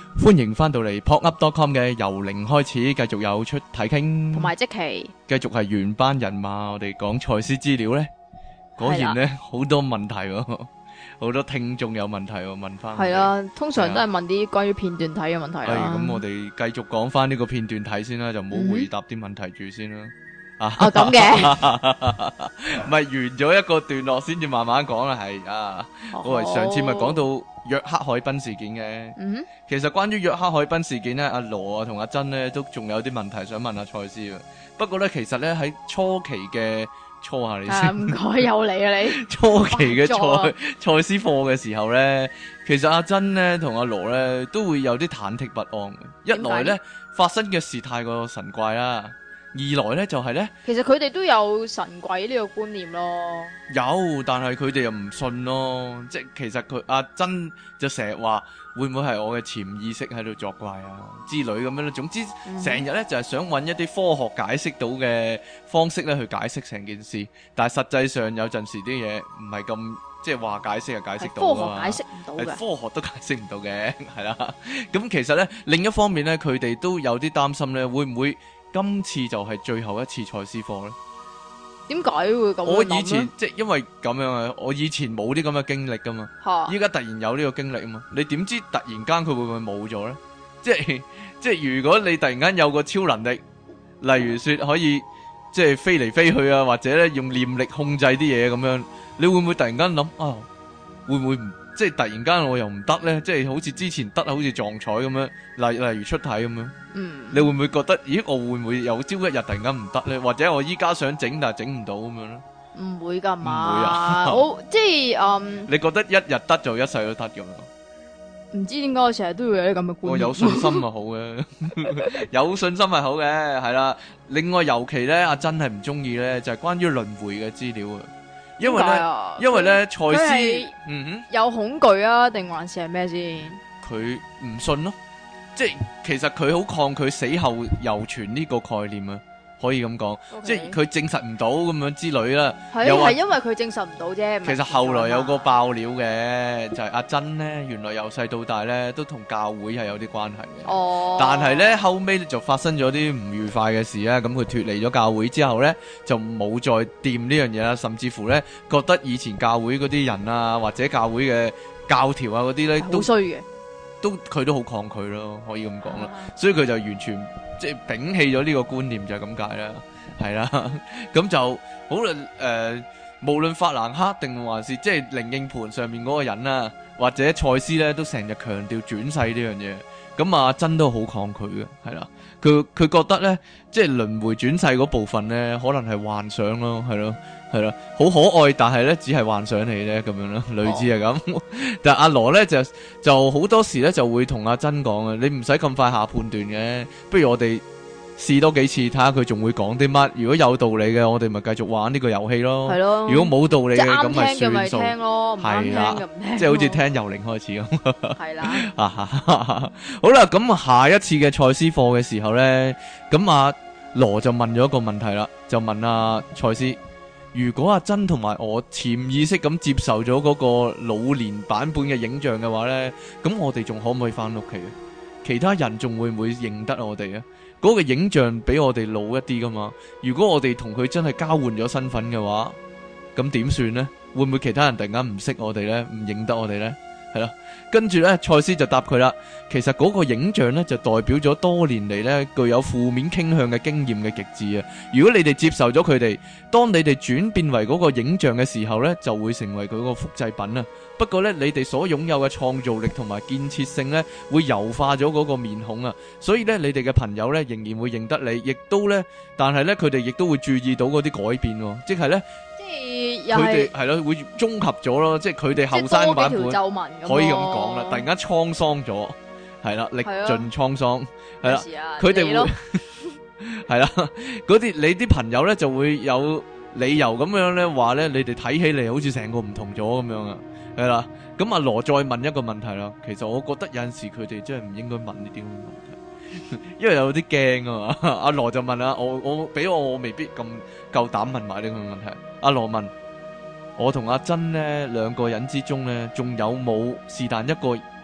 歡迎翻到嚟 popup.com 嘅由零開始，繼續有出體傾， 同埋即期繼續係原班人馬。我哋講賽斯資料呢，果然呢好多問題喎，好多聽眾有問題喎，問翻係啦，通常都係問啲關於片段睇嘅問題啦。 咁我哋繼續講翻呢個片段睇先啦，就唔好回答啲問題住先啦。 咁嘅， 唔係完咗一個段落先至慢慢講啦，係啊。我哋上次咪講到約克海濱事件嘅，其實關於約克海濱事件咧，阿羅啊同阿珍咧都仲有啲問題想問阿賽斯啊。不過咧，其實咧喺初期嘅初下你先， 唔該有你啊你。 初期嘅賽斯課嘅時候咧，其實阿珍咧同阿羅咧都會有啲忐忑不安嘅。一來咧發生嘅事太過神怪啦。二來咧就係咧，其實佢哋都有神鬼呢個觀念咯。 有，但係佢哋又唔信咯。即係其實佢阿珍就成日話會唔會係我嘅潛意識喺度作怪啊之類咁樣咧。總之成日咧就係想揾一啲科學解釋到嘅方式咧去解釋成件事。但係實際上有陣時啲嘢唔係咁即係話解釋就解釋到噶嘛。 科學解釋唔到嘅， 科學都解釋唔到嘅，係啦。咁其實咧另一方面咧，佢哋都有啲擔心咧，會唔會今次就係最後一次賽斯課咧？ 點解會咁樣諗咧？ 我以前即係因為咁樣啊，我以前冇啲咁嘅經歷噶嘛，依家突然有呢個經歷啊嘛，你點知突然間佢會唔會冇咗咧？即係如果你突然間有個超能力，例如說可以即係飛嚟飛去啊，或者咧用念力控制啲嘢咁樣，你會唔會突然間諗啊？會唔會唔即係突然間我又唔得咧？即係好似之前得，好似撞彩咁樣，例如出體咁樣。你會唔會覺得，咦，我會唔會有朝一日突然間唔得咧？或者我依家想整但係整唔到咁樣咧？ 唔會噶嘛？ 唔會啊！ 我即係你覺得一日得就一世都得咁樣？ 唔知點解我成日都會有啲咁嘅觀念。 我有信心咪好嘅，有信心係好嘅，係啦。另外尤其咧，阿珍係唔中意咧，就係關於輪迴嘅資料啊。因為咧，賽斯有恐懼啊，定還是係咩先？ 佢唔信咯。即係其實佢好抗拒死後猶存呢個概念啊，可以咁講，即係佢證實唔到咁樣之類啦。 係因為佢證實唔到啫。 其實後來有個爆料嘅，就係阿珍咧，原來由細到大咧都同教會係有啲關係嘅。但係咧後尾就發生咗啲唔愉快嘅事啊，咁佢脫離咗教會之後咧，就冇再掂呢樣嘢啦，甚至乎咧覺得以前教會嗰啲人啊，或者教會嘅教條啊嗰啲咧都衰嘅。佢都好抗拒咯，可以咁講啦，所以佢就完全即係摒棄咗呢個觀念就係咁解啦，係啦，咁就好啦。無論法蘭克定還是即係靈應盤上面嗰個人啊，或者賽斯咧，都成日強調轉世呢樣嘢。咁阿珍都好抗拒嘅，係啦，佢覺得咧，即係輪迴轉世嗰部分咧，可能係幻想咯，係咯。係啦，好可愛，但係咧只係幻想嚟咧，咁樣咯，類似係咁。但係阿羅咧就好多時咧就會同阿珍講啊，你唔使咁快下判斷嘅，不如我哋試多幾次睇下佢仲會講啲乜。如果有道理嘅，我哋咪繼續玩呢個遊戲咯。係咯。如果冇道理嘅，咁咪算數。係啦，即係好似聽由零開始咁。係啦。好啦，咁下一次嘅賽斯課嘅時候咧，咁阿羅就問咗一個問題啦，就問阿賽斯。如果阿珍同埋我潛意識咁接受咗嗰個老年版本嘅影像嘅話呢，咁我哋仲可唔可以翻屋企啊？其他人仲會唔會認得我哋啊？嗰個影像比我哋老一啲噶嘛？如果我哋同佢真係交換咗身份嘅話，咁點算呢？會唔會其他人突然間唔識我哋呢？唔認得我哋呢？係啦，跟住咧，賽斯就答佢啦。其實嗰個影像咧，就代表咗多年嚟咧具有負面傾向嘅經驗嘅極致啊。如果你哋接受咗佢哋，當你哋轉變為嗰個影像嘅時候咧，就會成為佢個複製品啊。不過咧，你哋所擁有嘅創造力同埋建設性咧，會柔化咗嗰個面孔啊。所以咧，你哋嘅朋友咧，仍然會認得你，亦都咧，但係咧，佢哋亦都會注意到嗰啲改變，即係咧。佢哋係咯，會綜合咗咯，即係佢哋後生版本可以咁講啦。突然間滄桑咗，係啦，歷盡滄桑，係啦，佢哋會係啦，嗰啲你啲朋友咧就會有理由咁樣咧話咧，你哋睇起嚟好似成個唔同咗咁樣啊，係啦。咁阿羅再問一個問題啦，其實我覺得有陣時佢哋真係唔應該問呢啲咁嘅問題。因為有啲驚啊嘛，阿羅就問啊，我未必咁夠膽問埋呢個問題。阿羅問我同阿珍呢兩個人之中呢，仲有冇是但一個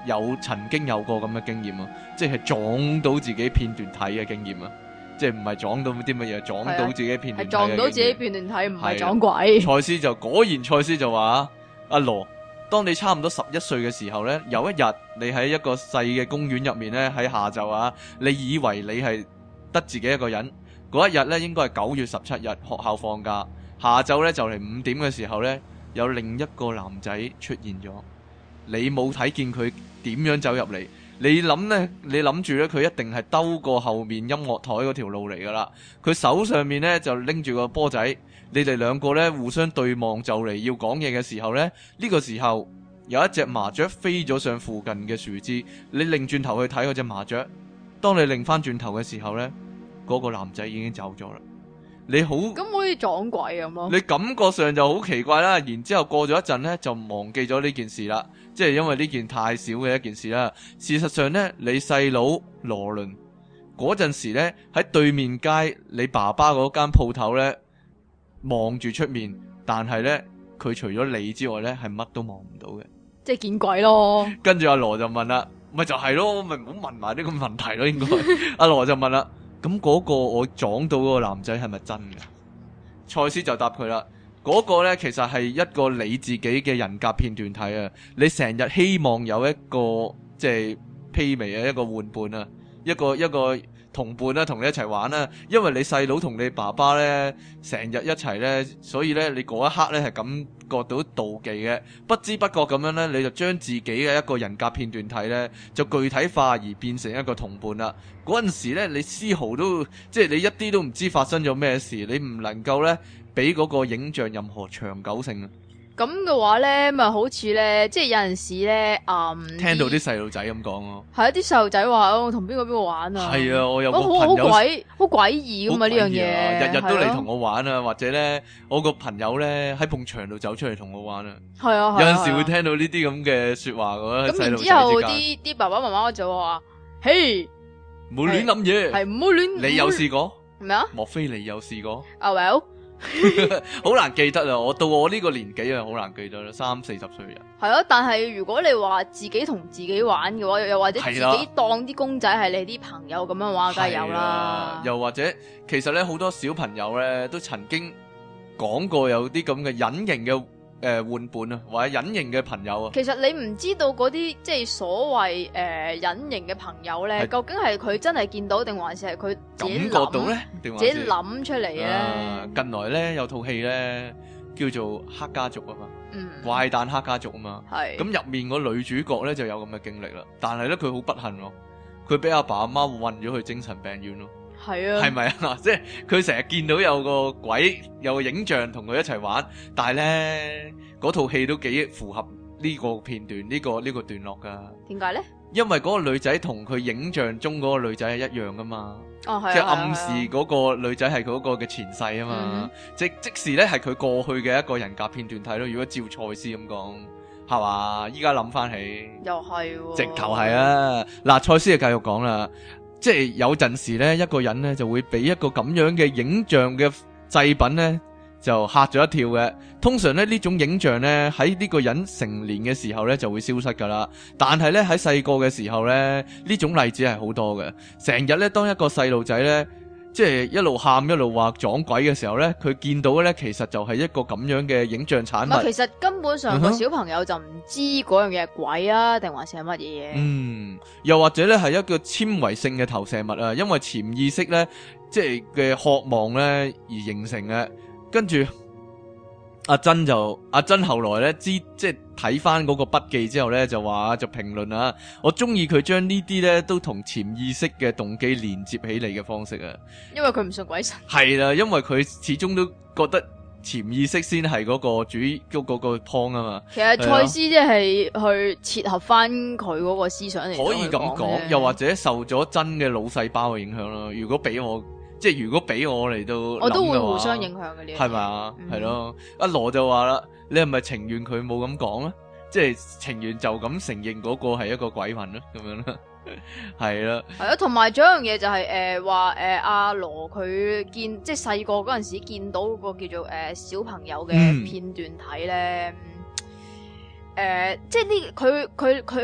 曾經有過咁嘅經驗啊，即係撞到自己片段睇嘅經驗啊，即係唔係撞到啲乜嘢，撞到自己片段睇嘅經驗，係撞到自己片段睇，唔係撞鬼。 賽斯就話阿羅，當你差唔多11歲嘅時候呢，有一日你喺一個細嘅公園入面呢，喺下晝啊，你以為你係得自己一個人，嗰一日呢應該係9月17日，學校放假，下晝呢就嚟5點嘅時候呢，有另一個男仔出現咗，你冇睇見佢點樣走入嚟，你諗住呢，佢一定係兜過後面音樂台嗰條路嚟噶啦，佢手上面呢就拎住個波仔。你哋兩個咧互相對望就嚟要講嘢嘅時候呢，呢個時候有一隻麻雀飛咗上附近嘅樹枝，你擰轉頭去睇嗰隻麻雀，當你擰翻轉頭嘅時候呢，嗰個男仔已經走咗啦。你好， 咁好似撞鬼咁咯。 你感覺上就好奇怪啦，然之後過咗一陣呢，就忘記咗呢件事啦，即係因為呢件太少嘅一件事啦。事實上呢，你細佬羅倫嗰陣時呢，喺對面街你爸爸嗰間鋪頭呢，望住出面，但係咧佢除咗你之外咧係乜都望唔到嘅， 即係見鬼咯。跟住阿羅就問啦，咪就係咯，咪唔好問埋呢個問題咯，應該。阿羅就問啦，咁嗰個我撞到嗰個男仔係咪真嘅？賽斯就答佢啦，嗰個咧其實係一個你自己嘅人格片段體啊，你成日希望有一個即係媲美啊，一個玩伴啊，一個同伴啦，同你一齊玩啦，因為你細佬同你爸爸咧成日一齊咧，所以咧你嗰一刻咧係感覺到妒忌嘅，不知不覺咁樣咧，你就將自己嘅一個人格片段體咧就具體化而變成一個同伴啦。嗰陣時咧，你絲毫都即係你一啲都唔知發生咗咩事，你唔能夠咧俾嗰個影像任何長久性啊。 咁嘅話咧，咪好似咧，即係有陣時咧， 聽到啲細路仔咁講咯， 係啊，啲細路仔話我同邊個玩啊， 係啊，我有個朋友好詭異噶嘛呢樣嘢， 日日都嚟同我玩啊，或者咧我個朋友咧喺埲牆度走出嚟同我玩啊， 係啊， 有陣時會聽到呢啲咁嘅說話噶， 咁然之後啲爸爸媽媽就話，嘿， 唔好亂諗嘢， 係唔好亂， 你有試過咩啊？ 莫非你有試過 ？Well。 好難記得啊！到我呢個年紀啊，好難記得啦，30-40歲人。 係咯，但係如果你話自己同自己玩嘅話，又或者自己當啲公仔係你啲朋友咁樣玩，梗係有啦。又或者，其實咧好多小朋友咧都曾經講過有啲咁嘅隱形嘅玩伴啊，或者隱形嘅朋友啊。 其實你唔知道嗰啲即係所謂隱形嘅朋友咧，究竟係佢真係見到，定還是係佢自己感覺到咧，定還是自己諗出嚟咧？ 近來咧有套戲咧叫做《黑家族》啊嘛，怪誕黑家族啊嘛，咁入面個女主角咧就有咁嘅經歷啦，但係咧佢好不幸咯，佢俾阿爸阿媽運咗去精神病院咯。 係啊， 係咪啊？即係佢成日見到有個鬼，有個影像同佢一齊玩，但係咧嗰套戲都幾符合呢個片段，呢個段落噶。點解咧？因為嗰個女仔同佢影像中嗰個女仔係一樣噶嘛， 哦係， 即係暗示嗰個女仔係嗰個嘅前世啊嘛，即時咧係佢過去嘅一個人格片段睇咯。如果照賽斯咁講，係嘛？依家諗翻起， 又係， 直頭係啊！嗱，賽斯就繼續講啦。即係有陣時咧，一個人咧就會俾一個咁樣嘅影像嘅製品咧，就嚇咗一跳嘅。通常咧呢種影像咧喺呢個人成年嘅時候咧就會消失噶啦。但係咧喺細個嘅時候咧，呢種例子係好多嘅。成日咧當一個細路仔咧，即係一路喊一路話撞鬼嘅時候咧，佢見到嘅咧其實就係一個咁樣嘅影像產物。 其實根本上個小朋友就唔知嗰樣嘢係鬼啊，定還是係乜嘢嘢？ 又或者咧係一個纖維性嘅投射物啊，因為潛意識咧即係嘅渴望咧而形成嘅。跟住阿珍後來咧即係睇翻嗰個筆記之後咧就話就評論啊，我中意佢將呢啲咧都同潛意識嘅動機連接起嚟嘅方式啊， 因為佢唔信鬼神。 係啦，因為佢始終都覺得潛意識先係嗰個主嗰個 point 啊嘛。 其實賽斯即係去切合翻佢嗰個思想嚟， 可以咁講，又或者受咗真嘅腦細胞嘅影響咯。如果俾我嚟到， 我都會互相影響嘅呢， 係咪啊？係咯。阿羅就話啦，你係咪情願佢冇咁講咧？即係情願就咁承認嗰個係一個鬼魂咧，咁樣啦。係啦，係啊。同埋仲有一樣嘢就係話阿羅佢見即係細個嗰陣時見到嗰個叫做小朋友嘅片段睇咧，即係呢佢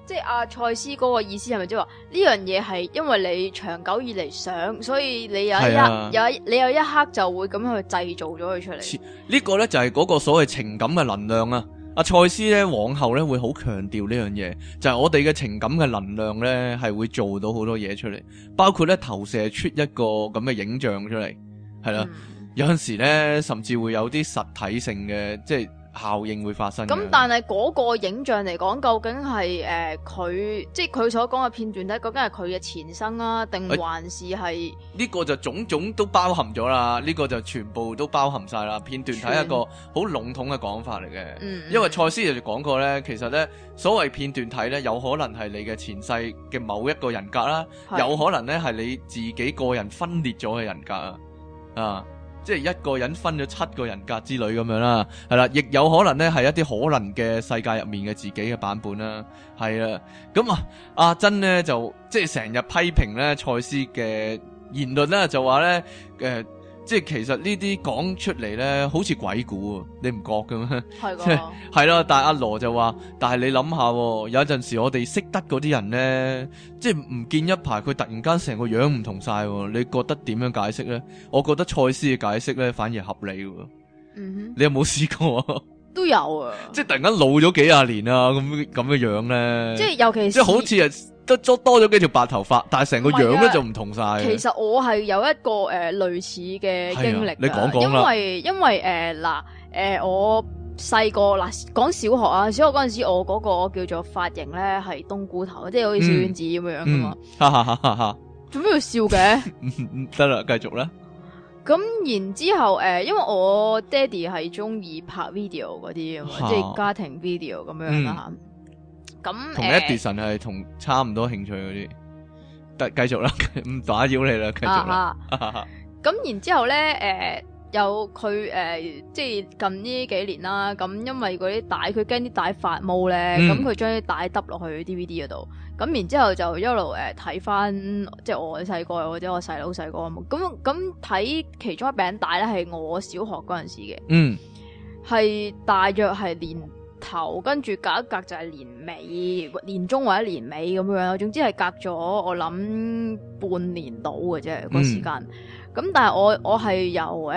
即係阿賽斯嗰個意思係咪即係話呢樣嘢係因為你長久以嚟想，所以你有一刻就會咁樣去製造咗佢出嚟？ 呢個咧就係嗰個所謂情感嘅能量啊！阿賽斯咧往後咧會好強調呢樣嘢，就係我哋嘅情感嘅能量咧係會做到好多嘢出嚟，包括咧投射出一個咁嘅影像出嚟，係啦，有陣時咧甚至會有啲實體性嘅即係效應會發生。咁但係嗰個影像嚟講，究竟係佢即係佢所講嘅片段咧，究竟係佢嘅前生啊，定還是係呢個就種種都包含咗啦？呢個就全部都包含晒啦。片段係一個好籠統嘅講法嚟嘅，因為賽斯就講過咧，其實咧所謂片段體咧，有可能係你嘅前世嘅某一個人格啦，有可能咧係你自己個人分裂咗嘅人格啊。即係一個人分咗7個人格之類咁樣啦，係啦，亦有可能咧係一啲可能嘅世界入面嘅自己嘅版本啦，係啦。咁阿珍咧就即係成日批評咧賽斯嘅言論啦，就話咧即係其實呢啲講出嚟咧好似鬼故啊，你唔覺嘅咩？係㗎，係咯。但係阿羅就話，但係你諗下，有陣時我哋識得嗰啲人咧，即係唔見一排，佢突然間成個樣唔同晒，你覺得點樣解釋咧？我覺得賽斯嘅解釋咧反而合理喎。你有冇試過啊？ 都有啊， 即係突然間老咗幾廿年啊，咁嘅樣咧。即係尤其是即係好似係多咗幾條白頭髮，但係成個樣咧就唔同晒。 其實我係有一個類似嘅經歷， 你講講啦。 因為我細個講小學啊，小學嗰陣時我嗰個叫做髮型咧係冬菇頭，即係好似小丸子咁樣噶嘛。哈！做咩要笑嘅？ 得啦，繼續啦。 咁然之後因為我爹哋係中意拍 video 嗰啲啊嘛，即係家庭 video 咁樣啦。咁同 Edison 係同差唔多興趣嗰啲，得繼續啦，唔打擾你啦，繼續啦。 咁然之後咧，有佢即係近呢幾年啦。咁因為嗰啲帶，佢驚啲帶發毛咧，咁佢將啲帶揼落去 DVD 嗰度。咁然之後就一路睇翻，即係我細個或者我細佬細個咁睇其中一餅帶咧，係我小學嗰陣時嘅，係大約係年頭，跟住隔一隔就係年尾、年中或者年尾咁樣，總之係隔咗我諗半年到嘅啫個時間。咁但係我係由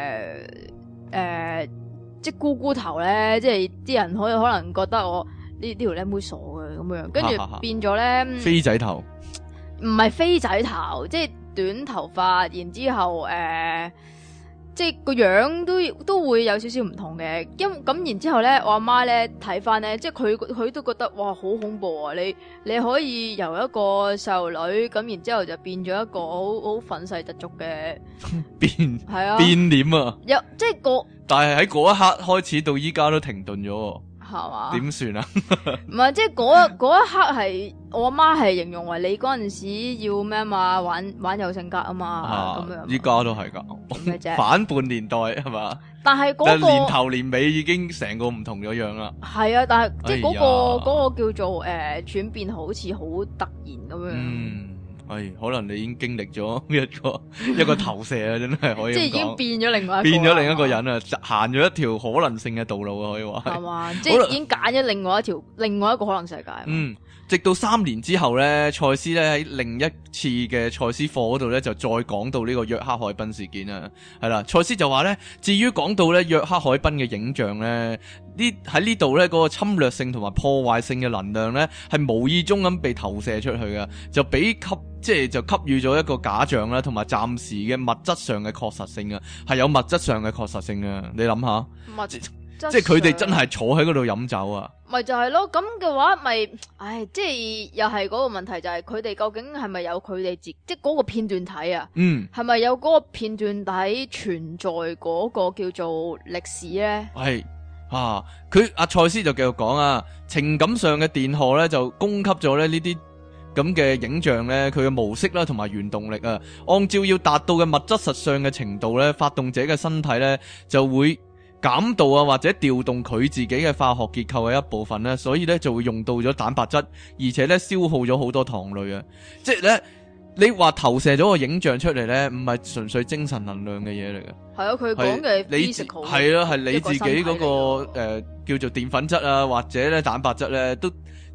即係咕咕頭咧，即係啲人可能覺得我呢條靚妹傻嘅咁樣，跟住變咗咧飛仔頭， 唔係飛仔頭，即係短頭髮，然之後即係個樣都會有少少唔同嘅，咁然之後咧，我阿媽咧睇翻咧，即係佢都覺得哇好恐怖啊！你可以由一個細路女咁，然之後就變咗一個好憤世嫉俗嘅係啊變臉啊！ 即係但係喺嗰一刻開始到依家都停頓咗。 係嘛？ 點算啊？ 唔係，即係嗰一刻係我阿媽係形容為你嗰陣時要咩嘛？玩有性格啊嘛，咁樣。依家都係噶，反叛年代係嘛？ 但係嗰個年頭年尾已經成個唔同咗樣啦。 係啊，但係即係嗰個叫做轉變，好似好突然咁樣。 可能你已經經歷咗一個投射啊，真係可以。 即係已經變咗另一個人啊，行咗一條可能性嘅道路啊，可以話係嘛？即係已經揀咗另外一個可能世界。 直到3年之後咧，賽斯咧喺另一次嘅賽斯課嗰度咧，就再講到呢個約克海濱事件啊，係啦，賽斯就話咧，至於講到咧約克海濱嘅影像咧，喺呢度咧嗰個侵略性同埋破壞性嘅能量咧，係無意中咁被投射出去嘅，就給予咗一個假象啦，同埋暫時嘅物質上嘅確實性啊，係有物質上嘅確實性啊，你諗下，即係佢哋真係坐喺嗰度飲酒啊。 咪就係咯，咁嘅話咪，即係又係嗰個問題，就係佢哋究竟係咪有佢哋即係嗰個片段體啊？係咪有嗰個片段體存在嗰個叫做歷史咧？係佢阿賽斯就繼續講啊，情感上嘅電荷咧就供給咗咧呢啲咁嘅影像咧，佢嘅模式啦同埋原動力啊，按照要達到嘅物質實相嘅程度咧，發動者嘅身體咧就會減度啊，或者調動佢自己嘅化學結構嘅一部分咧，所以咧就會用到咗蛋白質，而且咧消耗咗好多糖類啊！即係咧，你話投射咗個影像出嚟咧，唔係純粹精神能量嘅嘢嚟嘅。 係啊，佢講嘅 physical 係啊，係你自己嗰個叫做澱粉質啊，或者咧蛋白質咧，都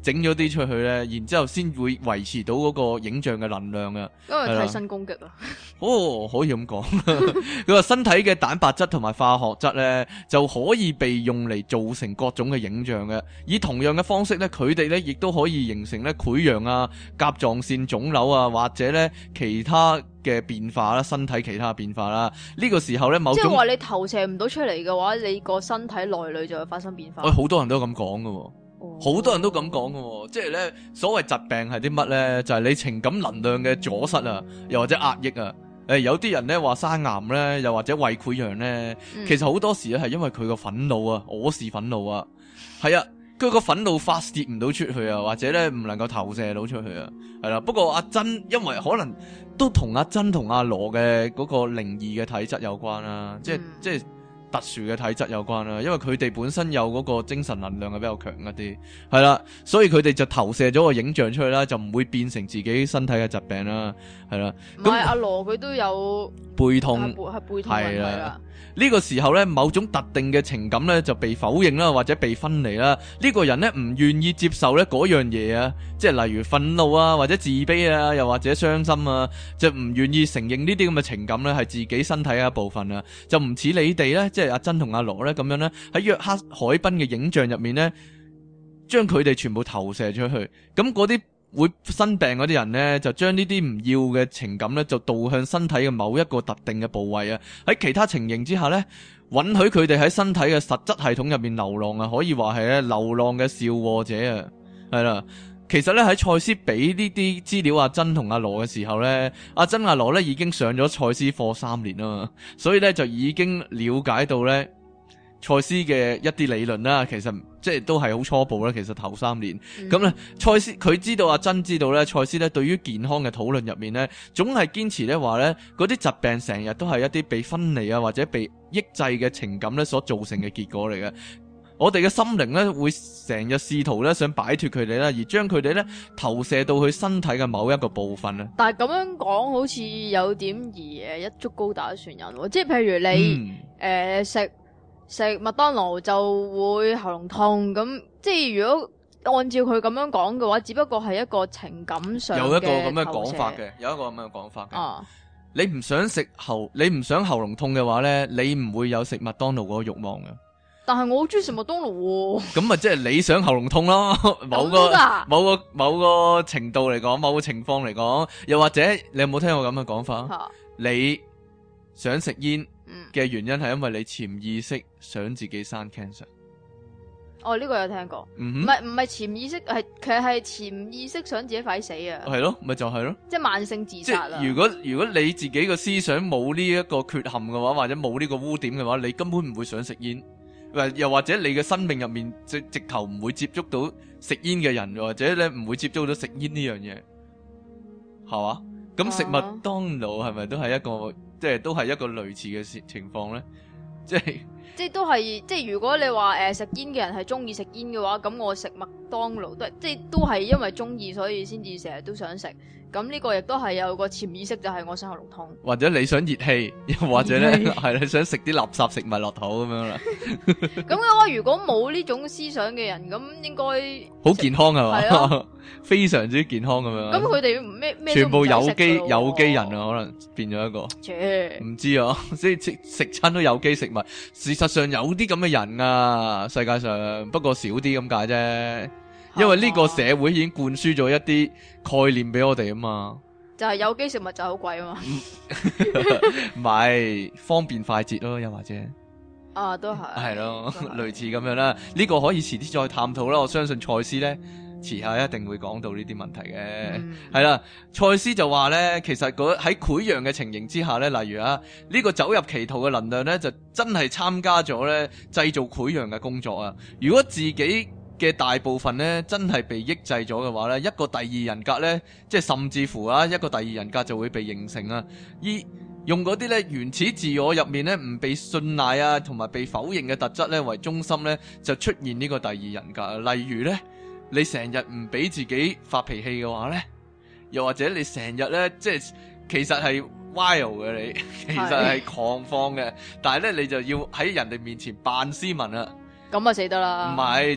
整咗啲出去咧，然之後先會維持到嗰個影像嘅能量啊。 因為替身攻擊啊。 哦，可以咁講。佢話身體嘅蛋白質同埋化學質咧，就可以被用嚟造成各種嘅影像嘅。以同樣嘅方式咧，佢哋咧亦都可以形成咧潰瘍啊、甲狀腺腫瘤啊，或者咧其他嘅變化啦，身體其他嘅變化啦。呢個時候咧，某種即係話你投射唔到出嚟嘅話，你個身體內裏就會發生變化。 好多人都咁講㗎。好多人都咁講嘅，即係咧所謂疾病係啲乜咧？就係你情感能量嘅阻塞啊，又或者壓抑啊。有啲人咧話生癌咧，又或者胃潰瘍咧，其實好多時咧係因為佢個憤怒啊，我是憤怒啊，係啊，佢個憤怒發泄唔到出去啊，或者咧唔能夠投射到出去啊，係啦。不過阿珍因為可能都同阿珍同阿羅嘅嗰個靈異嘅體質有關啦，即係特殊嘅體質有關啦，因為佢哋本身有嗰個精神能量係比較強一啲，係啦，所以佢哋就投射咗個影像出去啦，就唔會變成自己身體嘅疾病啦，係啦。 唔係阿羅佢都有背痛， 係背痛問題啦。 呢個時候咧，某種特定嘅情感咧就被否認啦，或者被分離啦。呢個人咧唔願意接受咧嗰樣嘢啊，即係例如憤怒啊，或者自卑啊，又或者傷心啊，就唔願意承認呢啲咁嘅情感咧係自己身體嘅一部分啊，就唔似你哋咧，即係阿珍同阿羅咧咁樣咧喺約克海濱嘅影像入面咧，將佢哋全部投射出去，咁嗰啲會生病嗰啲人呢，就將呢啲唔要嘅情感呢，就導向身體嘅某一個特定嘅部位啊。喺其他情形之下呢，允許佢哋喺身體嘅實質系統入面流浪啊，可以話係咧流浪嘅肇禍者啊，係啦。其實咧喺賽斯俾呢啲資料阿珍同阿羅嘅時候呢，阿珍阿羅呢已經上咗賽斯課3年啊嘛，所以呢，就已經了解到呢賽斯嘅一啲理論啦，其實即係都係好初步啦。其實頭3年咁咧，賽斯佢知道阿珍知道咧，賽斯咧對於健康嘅討論入面咧，總係堅持咧話咧，嗰啲疾病成日都係一啲被分離啊或者被抑制嘅情感咧所造成嘅結果嚟嘅。我哋嘅心靈咧會成日試圖咧想擺脫佢哋啦，而將佢哋咧投射到佢身體嘅某一個部分啊。 但係咁樣講好似有點而一竹篙打船人喎，即係譬如你食麥當勞就會喉嚨痛，咁即係如果按照佢咁樣講嘅話，只不過係一個情感上有一個咁嘅講法嘅，有一個咁嘅講法嘅。你唔想喉嚨痛嘅話咧，你唔會有食麥當勞嗰個慾望嘅。 但係我好中意食麥當勞喎。 咁咪即係你想喉嚨痛咯？某個程度嚟講，某個情況嚟講，又或者你有冇聽過咁嘅講法？你想食煙嘅原因係因為你潛意識想自己生 cancer。 哦，呢個有聽過。唔係潛意識，其實係潛意識想自己快死啊。係咯，咪就係咯。即係慢性自殺啦。 如果你自己個思想冇呢一個缺陷嘅話，或者冇呢個污點嘅話，你根本唔會想食煙。又或者你嘅生命入面直頭唔會接觸到食煙嘅人，或者咧唔會接觸到食煙呢樣嘢，係嘛？咁食麥當勞係咪都係一個，即係都係一個類似嘅情況咧？即係都係，即係如果你話食煙嘅人係中意食煙嘅話，咁我食麥當勞都係因為中意，所以先至成日都想食。咁呢個亦都係有個潛意識，就係我想喉嚨痛，或者你想熱氣，又或者咧係你想食啲垃圾食物落肚咁樣啦。咁嘅話，如果冇呢種思想嘅人，咁應該好健康係嘛？係啊，非常之健康咁樣。咁佢哋咩全部有機人啊，可能變咗一個。唔知啊，即係食親都有機食物。事實上有啲咁嘅人啊，世界上不過少啲咁解啫。因為呢個社會已經灌輸咗一啲概念俾我哋啊嘛，就係有機食物就好貴啊嘛，唔係方便快捷咯，又或者都係咯，類似咁樣啦。呢個可以遲啲再探討啦。我相信賽斯呢，遲下一定會講到呢啲問題嘅。係啦，賽斯就話呢，其實喺潰瘍嘅情形之下呢，例如呢個走入歧途嘅能量呢，就真係參加咗呢製造潰瘍嘅工作啊。如果自己嘅大部分咧，真係被抑制咗嘅話咧，一個第二人格咧，即係甚至乎一個第二人格就會被形成啊。用嗰啲咧原始自我入面咧唔被信賴啊，同埋被否認嘅特質咧為中心咧，就出現呢個第二人格。例如咧，你成日唔俾自己發脾氣嘅話咧，又或者你成日咧，即係其實係 wild 嘅你，其實係狂放嘅，但係咧你就要喺人哋面前扮斯文啊。咁啊死得啦！唔係，即係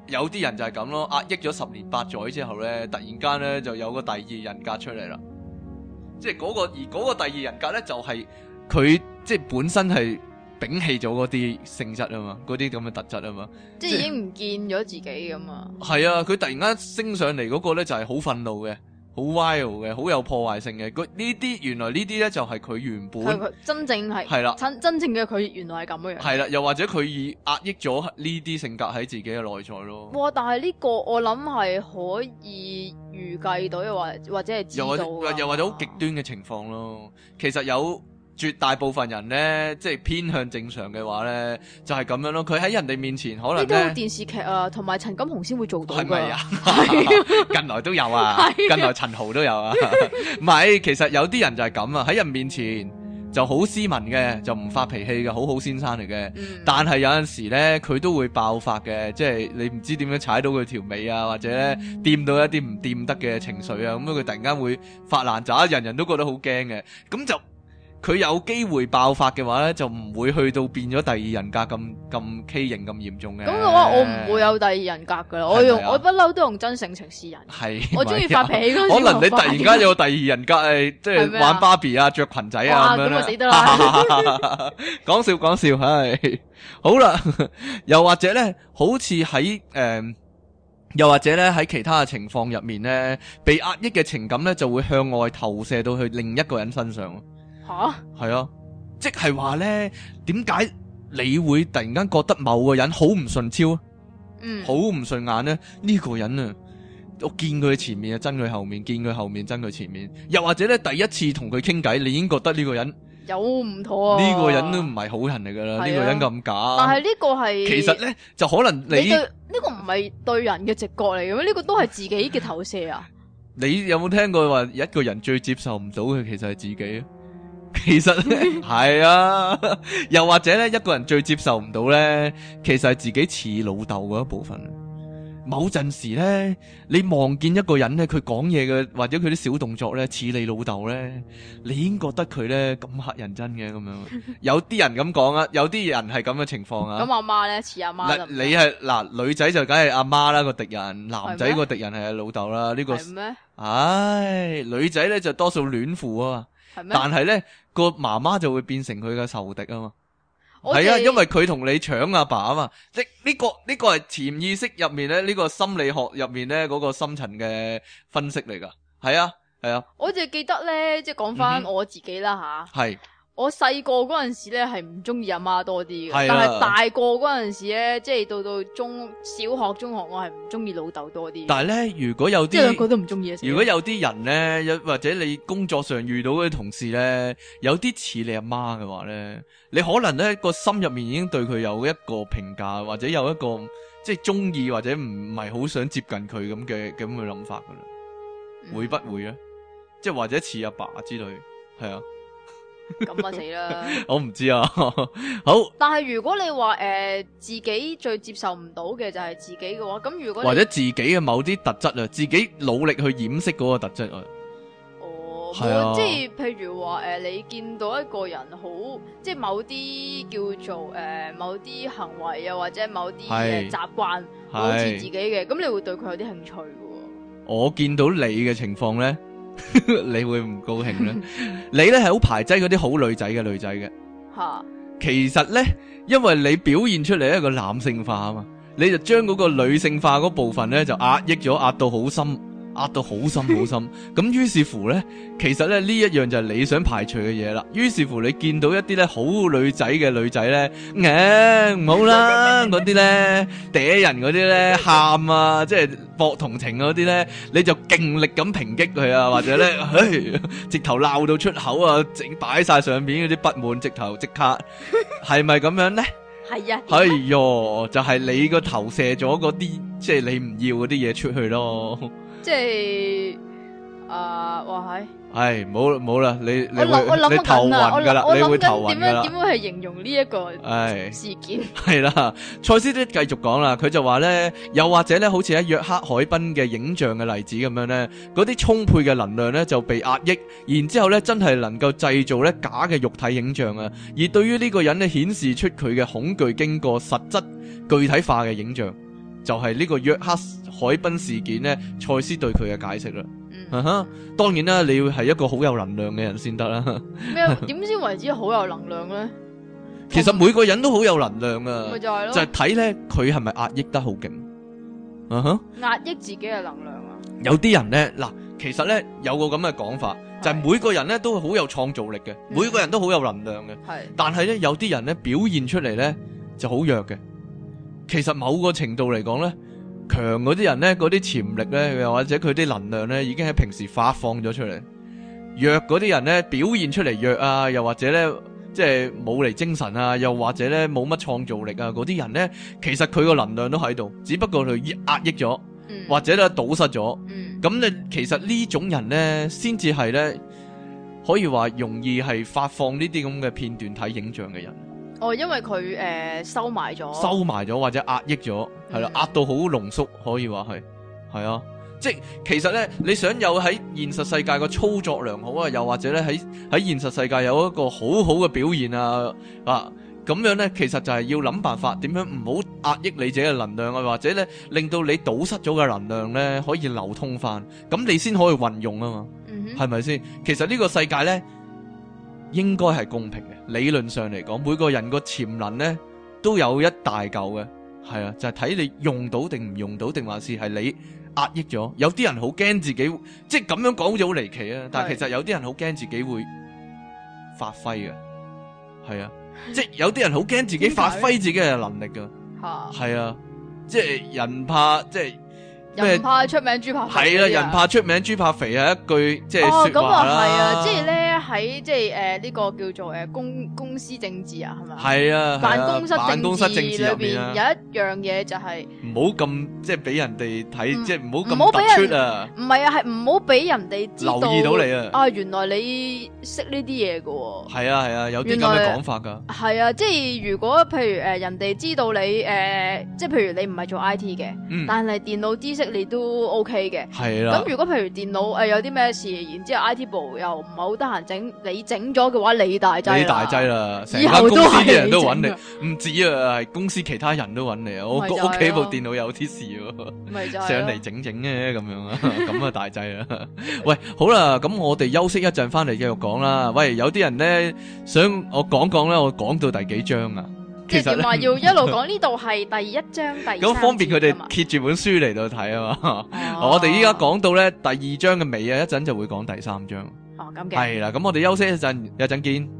有啲人就係咁咯，壓抑咗10年8載之後咧，突然間咧就有個第二人格出嚟啦。即係嗰個第二人格咧，就係佢即係本身係摒棄咗嗰啲性質啊嘛，嗰啲咁嘅特質啊嘛， 即係已經唔見咗自己咁啊。 係啊，佢突然間升上嚟嗰個咧就係好憤怒嘅，好 wild 嘅，好有破壞性嘅。原來呢啲咧就係佢原本佢真正係啦，真正嘅佢原來係咁嘅樣。係啦，又或者佢已壓抑咗呢啲性格喺自己嘅內在咯。 哇！但係呢個我諗係可以預計到，又或者係知道又或者好極端嘅情況咯。其實有絕大部分人咧，即係偏向正常嘅話咧，就係咁樣咯。佢喺人哋面前可能呢啲電視劇啊，同埋陳錦鴻先會做到㗎。係咪啊？ 近來都有啊，近來陳豪都有啊。唔係，其實有啲人就係咁啊，喺人面前就好斯文嘅，就唔發脾氣嘅，好先生嚟嘅。但係有陣時咧，佢都會爆發嘅，即係你唔知點樣踩到佢條尾啊，或者咧掂到一啲唔掂得嘅情緒啊，咁佢突然間會發爛渣，人人都覺得好驚嘅，咁就。佢有機會爆發嘅話咧，就唔會去到變咗第二人格咁畸形咁嚴重嘅。咁嘅話，我唔會有第二人格噶啦。我不嬲都用真性情示人。係，我中意發脾氣嗰陣。 可能你突然間有第二人格係即係玩芭比啊、着裙仔啊咁樣。咁我死得啦！ 講笑，係好啦。又或者咧，好似喺又或者咧喺其他嘅情況入面咧，被壓抑嘅情感咧就會向外投射到去另一個人身上。係啊，即係話咧，點解你會突然間覺得某個人好唔順超啊？好唔順眼咧？呢個人啊，我見佢前面啊，憎佢後面；見佢後面，憎佢前面。又或者咧，第一次同佢傾偈，你已經覺得呢個人有唔妥啊？ 呢個人都唔係好人嚟噶啦，呢個人咁假。 但係呢個係其實咧，就可能你對呢個唔係對人嘅直覺嚟嘅咩？呢個都係自己嘅投射啊！ 你有冇聽過話一個人最接受唔到嘅其實係自己啊？其實咧係啊，又或者咧一個人最接受唔到咧，其實係自己似老豆嗰一部分。某陣時咧，你望見一個人咧，佢講嘢嘅或者佢啲小動作咧似你老豆咧，你已經覺得佢咧咁乞人憎嘅咁樣。有啲人咁講啊，有啲人係咁嘅情況啊。 咁阿媽咧似阿媽。 你係女仔就梗係阿媽啦個敵人，男仔個敵人係老豆啦。呢個係咩？唉，女仔咧就多數戀父啊嘛。但係咧個媽媽就會變成佢嘅仇敵啊嘛，係啊，因為佢同你搶阿爸啊嘛，即呢個係潛意識入面咧，呢個心理學入面咧嗰個深層嘅分析嚟噶，係啊。 我就記得咧，即係講翻我自己啦吓。係。我細個嗰陣時咧係唔中意阿媽多啲嘅，但係大個嗰陣時咧，即係到小學、中學，我係唔中意老豆多啲。 但係咧，如果有啲， 即係兩個都唔中意。 如果有啲人咧，或者你工作上遇到嗰啲同事咧，有啲似你阿媽嘅話咧，你可能咧個心入面已經對佢有一個評價，或者有一個即係中意或者唔係好想接近佢咁嘅諗法噶啦，會不會咧？即係或者似阿爸之類，係啊。 咁啊死啦！ 我唔知啊。好， 但係如果你話自己最接受唔到嘅就係自己嘅話，咁如果或者自己嘅某啲特質啊，自己努力去掩飾嗰個特質啊。 哦，係啊，即係譬如話你見到一個人好，即係某啲叫做某啲行為啊，或者某啲習慣好似自己嘅，咁你會對佢有啲興趣嘅。我見到你嘅情況咧。你會唔高興咧？你咧係好排擠嗰啲好女仔嘅吓。其實咧，因為你表現出嚟一個男性化啊嘛，你就將嗰個女性化嗰部分咧就壓抑咗，壓到好深，壓到好深好深。咁於是乎咧，其實咧呢一樣就係你想排除嘅嘢啦。於是乎你見到一啲咧好女仔嘅女仔咧，唔好啦，嗰啲咧嗲人嗰啲咧喊啊，即係博同情嗰啲咧，你就勁力咁抨擊佢啊，或者咧，直頭鬧到出口啊，整擺晒上面嗰啲不滿，直頭即刻係咪咁樣咧？係啊，哎喲，就係你個投射咗嗰啲，即係你唔要嗰啲嘢出去咯。即係哇係，冇啦，你頭暈噶啦，你會頭暈噶啦。 點樣去形容呢一個事件？ 係啦，賽斯都繼續講啦，佢就話咧，又或者咧，好似喺約克海濱嘅影像嘅例子咁樣咧，嗰啲充沛嘅能量咧就被壓抑，然之後咧真係能夠製造咧假嘅肉體影像啊，而對於呢個人咧顯示出佢嘅恐懼經過實質具體化嘅影像。 就係呢個約克海濱事件咧，賽斯對佢嘅解釋啦。當然啦，你要係一個好有能量嘅人先得啦。 咩？點先為之好有能量咧？ 其實每個人都好有能量啊， 咪就係咯， 就係睇咧佢係咪壓抑得好勁。 壓抑自己嘅能量啊！ 有啲人咧，嗱，其實咧有個咁嘅講法，就係每個人咧都好有創造力嘅，每個人都好有能量嘅。係，但係咧有啲人咧表現出嚟咧就好弱嘅。其實某個程度嚟講咧，強嗰啲人咧，嗰啲潛力咧，又或者佢啲能量咧，已經喺平時發放咗出嚟。弱嗰啲人咧，表現出嚟弱啊，又或者咧，即係冇嚟精神啊，又或者咧冇乜創造力啊，嗰啲人咧，其實佢個能量都喺度，只不過佢壓抑咗，或者咧堵塞咗。咁你其實呢種人咧，先至係咧，可以話容易係發放呢啲咁嘅片段睇影像嘅人。 哦，因為佢收埋咗或者壓抑咗，係啦，壓到好濃縮，可以話係啊，即係其實咧，你想有喺現實世界個操作良好啊，又或者咧喺現實世界有一個好好嘅表現啊，咁樣咧，其實就係要諗辦法點樣唔好壓抑你自己嘅能量啊，或者咧令到你堵塞咗嘅能量咧可以流通翻，咁你先可以運用啊嘛，係咪先？其實呢個世界咧應該係公平嘅。理論上嚟講，每個人個潛能咧都有一大嚿嘅，係啊，就係睇你用到定唔用到，定還是係你壓抑咗。有啲人好驚自己，即係咁樣講好似好離奇啊！但係其實有啲人好驚自己會發揮嘅，係啊，即係有啲人好驚自己發揮自己嘅能力噶，係啊，即係人怕即係。 人怕出名豬怕肥， 係啦，人怕出名豬怕肥係一句即係說話啦。 係啊，即係咧喺即係呢個叫做公司政治啊，係咪？ 係啊， 辦公室政治裏邊有一樣嘢就係唔好咁即係俾人哋睇，即係唔好咁突出啊。 唔係啊，係唔好俾人哋留意到你啊。 啊，原來你識呢啲嘢噶。 係啊係啊，有啲咁嘅講法噶。 係啊，即係如果譬如人哋知道你即係譬如你唔係做 IT 嘅，但係電腦知識你都 OK 嘅，係啦。咁如果譬如電腦有啲咩事，然之後 IT 部又唔係好得閒整，你整咗嘅話，你大劑啦。你大劑啦，成間公司啲人都揾你，唔止啊，係公司其他人都揾你啊。我屋企部電腦有啲事喎，上嚟整整嘅咁樣啊，咁啊大劑啦。喂，好啦，咁我哋休息一陣，翻嚟繼續講啦。喂，有啲人咧想我講咧，我講到第幾章啊？ 其實話要一路講呢度係第一章第二章，咁方便佢哋揭住本書嚟到睇啊嘛。我哋依家講到咧第二章嘅尾啊，一陣就會講第三章。 哦，咁嘅係啦，咁我哋休息一陣見。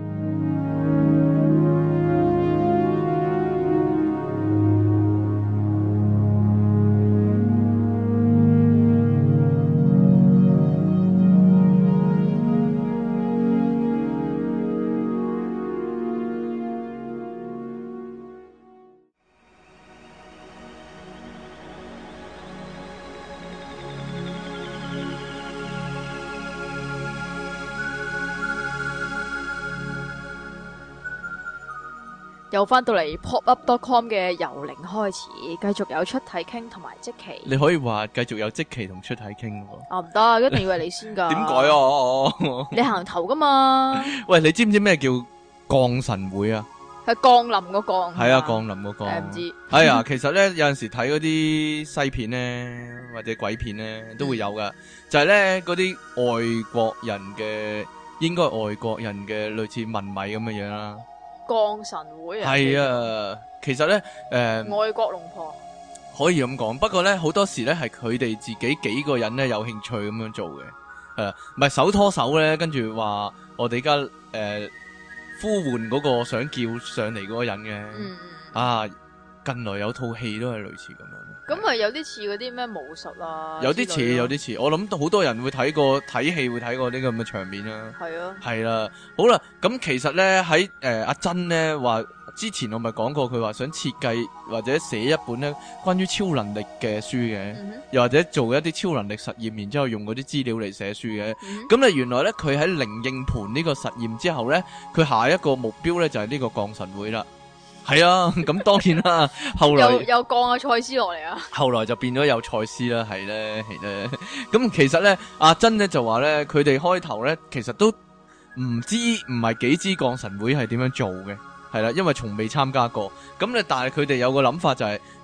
又翻到嚟 popup.com 嘅由零開始，繼續有出體傾同埋即期。 你可以話繼續有即期同出體傾喎。 啊，唔得，一定要係你先噶。 點解啊？ 你行頭噶嘛？ 喂，你知唔知咩叫降神會啊？ 係降臨個降。係啊，降臨個降。唔知。哎呀，其實咧有陣時睇嗰啲西片咧，或者鬼片咧，都會有噶。就係咧嗰啲外國人嘅，應該係外國人嘅類似文米咁嘅嘢啦。 降神會啊， 係啊，其實咧， 外國龍婆可以咁講，不過咧好多時咧係佢哋自己幾個人咧有興趣咁樣做嘅，唔係手拖手咧，跟住話我哋而家呼喚嗰個想叫上嚟嗰個人嘅，啊，近來有套戲都係類似咁樣， 咁係有啲似嗰啲咩武術啊， 有啲似，我諗好多人會睇過睇戲會睇過呢個咁嘅場面啦， 係啊， 係啦，好啦，咁其實咧喺阿珍咧話之前我咪講過佢話想設計或者寫一本咧關於超能力嘅書嘅，又或者做一啲超能力實驗，然之後用嗰啲資料嚟寫書嘅，咁咧原來咧佢喺靈應盤呢個實驗之後咧，佢下一個目標咧就係呢個降神會啦。係啊，咁當然啦，後來又降阿賽斯落嚟啊， 後來就變咗有賽斯啦，係咧，咁其實咧，阿珍咧就話咧，佢哋開頭咧其實都唔係幾知降神會係點樣做嘅，係啦，因為從未參加過，咁咧但係佢哋有個諗法就係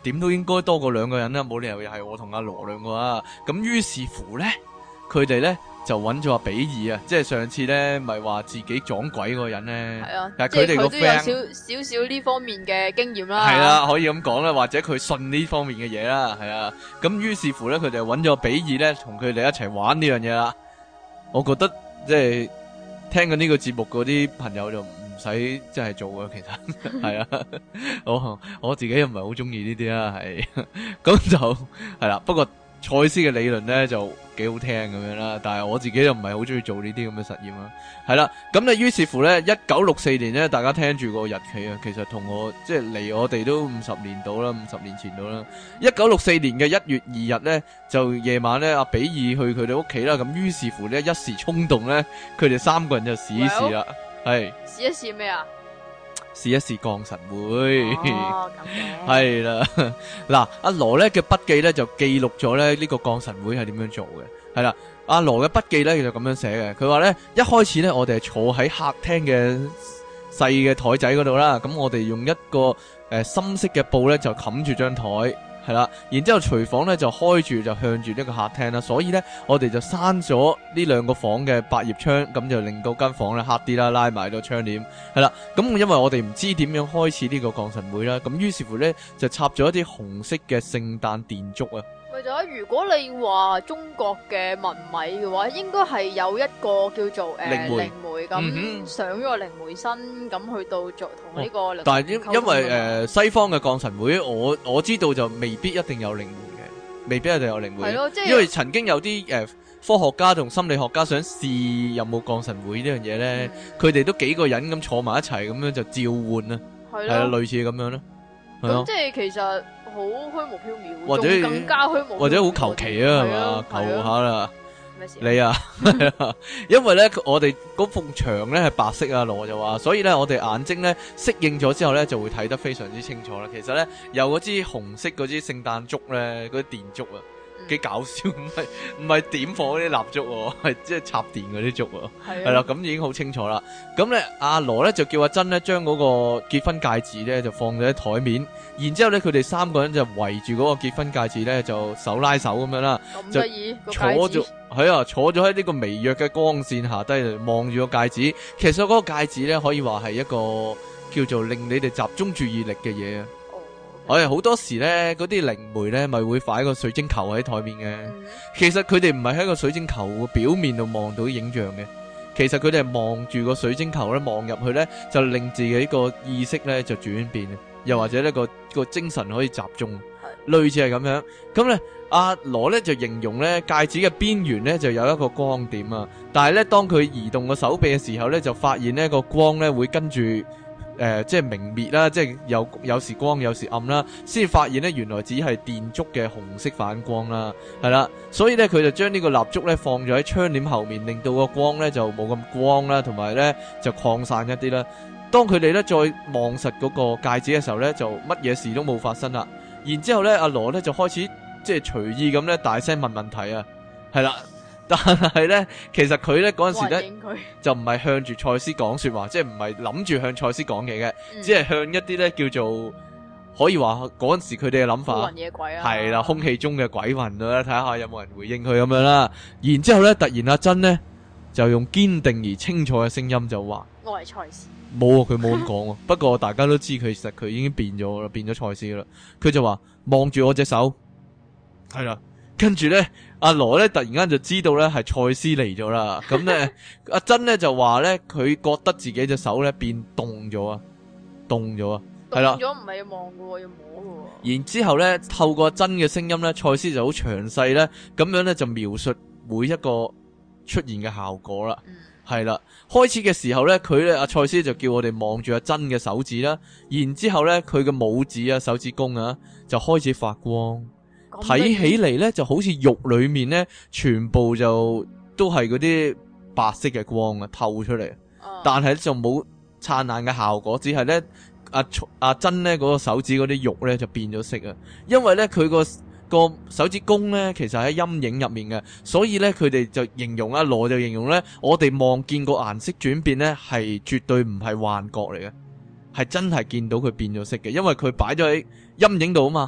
點都應該多過2個人啦，冇理由又係我同阿羅2個啊。咁於是乎咧，佢哋咧就揾咗阿比爾啊，即係上次咧咪話自己撞鬼嗰個人咧。 係啊， 但係佢哋個 friend 都有少少呢方面嘅經驗啦。 係啦，可以咁講啦，或者佢信呢方面嘅嘢啦，係啊。咁於是乎咧，佢哋揾咗比爾咧，同佢哋一齊玩呢樣嘢啦。我覺得即係聽緊呢個節目嗰啲朋友就唔使即係做啊，其實係啊。我自己又唔係好中意呢啲啦，係咁就係啦。不過賽斯嘅理論咧就幾好聽咁樣啦，但係我自己又唔係好中意做呢啲咁嘅實驗啦。係啦，咁咧於是乎咧，1964年咧，大家聽住個日期啊，其實同我即係離我哋都50年到啦，50年前到啦。1964年嘅1月2日咧，就夜晚咧，阿比爾去佢哋屋企啦。咁於是乎咧，一時衝動咧，佢哋3個人就試一試啦，係試一試咩啊？ 試一試降神會。 哦，咁嘅係啦，嗱，阿羅咧嘅筆記咧就記錄咗咧呢個降神會係點樣做嘅。係啦，阿羅嘅筆記咧就咁樣寫嘅。佢話咧，一開始咧我哋係坐喺客廳嘅細嘅台仔嗰度啦，咁我哋用一個深色嘅布咧就冚住張台。係啦，然之後廚房咧就開住，就向住呢個客廳啦，所以咧我哋就閂咗呢2個房嘅百葉窗，咁就令到間房咧黑啲啦，拉埋個窗簾。係啦，咁因為我哋唔知點樣開始呢個降神會啦，咁於是乎咧就插咗一啲紅色嘅聖誕電燭啊。 咪就係如果你話中國嘅文米嘅話，應該係有一個叫做靈媒咁上咗個靈媒身，咁去到做同呢個。 但係因為西方嘅降神會，我知道就未必一定有靈媒嘅，未必一定有靈媒。係咯，即係因為曾經有啲科學家同心理學家想試有冇降神會呢樣嘢咧，佢哋都幾個人咁坐埋一齊咁樣就召喚啊，係啊，類似咁樣咯。 咁即係其實好虛無縹緲， 或者更加虛無縹緲， 或者好求其啊，係嘛？求下啦，你啊，因為咧我哋嗰埲牆咧係白色啊，羅就話，所以咧我哋眼睛咧適應咗之後咧就會睇得非常之清楚啦。其實咧有嗰支紅色嗰支聖誕燭咧，嗰啲電燭啊。幾搞笑，唔係點火嗰啲蠟燭，係即係插電嗰啲燭，係啦，咁已經好清楚啦。咁咧阿羅咧就叫阿珍咧將嗰個結婚戒指咧就放咗喺台面，然之後咧佢哋3個人就圍住嗰個結婚戒指咧就手拉手咁樣啦，就坐咗坐咗喺呢個微弱嘅光線下低望住個戒指。其實嗰個戒指咧可以話係一個叫做令你哋集中注意力嘅嘢啊。我哋好多時咧，嗰啲靈媒咧，咪會擺個水晶球喺台面嘅。其實佢哋唔係喺個水晶球嘅表面度望到影像嘅，其實佢哋係望住個水晶球咧，望入去咧，就令自己個意識咧就轉變，又或者呢個精神可以集中，類似係咁樣。咁咧，阿羅咧就形容咧戒指嘅邊緣咧就有一個光點啊，但係咧當佢移動個手臂嘅時候咧，就發現呢個光咧會跟住。即係明滅啦，即係有時光有時暗啦，先發現呢原來只係電燭嘅紅色反光啦，係啦，所以呢，佢就將呢個蠟燭呢放咗喺窗簾後面，令到個光呢就冇咁光啦，同埋呢就擴散一啲啦。當佢哋呢再望實嗰個戒指嘅時候呢，就乜嘢事都冇發生啦。然之後呢，阿羅呢就開始即係隨意咁呢大聲問問題啊，係啦。但係咧，其實佢咧嗰陣時咧就唔係向住賽斯講說話，即係唔係諗住向賽斯講嘢嘅，只係向一啲咧叫做可以話嗰陣時佢哋嘅諗法係啦，空氣中嘅鬼魂啦，睇下有冇人回應佢咁樣啦。然之後咧，突然阿珍咧就用堅定而清楚嘅聲音就話： 我係賽斯。 冇啊，佢冇咁講。不過大家都知佢其實佢已經變咗啦，變咗賽斯啦。佢就話望住我隻手，係啦。跟住咧，阿羅咧突然間就知道咧係賽斯嚟咗啦。咁咧，阿珍咧就話咧，佢覺得自己隻手咧變凍咗啊，凍咗啊，係啦。凍咗唔係要望嘅，要摸嘅。然之後咧，透過珍嘅聲音咧，賽斯就好詳細咧，咁樣咧就描述每一個出現嘅效果啦。係啦，開始嘅時候咧，佢咧阿賽斯就叫我哋望住阿珍嘅手指啦，然之後咧佢嘅拇指啊、手指公啊就開始發光。睇起嚟咧就好似肉裏面咧全部就都係嗰啲白色嘅光啊透出嚟，但係就冇燦爛嘅效果，只係咧阿珍咧嗰個手指嗰啲肉咧就變咗色啊，因為咧佢個手指公咧其實喺陰影入面嘅，所以咧佢哋就形容阿羅就形容咧我哋望見個顏色轉變咧係絕對唔係幻覺嚟嘅，係真係見到佢變咗色嘅，因為佢擺咗喺陰影度啊嘛。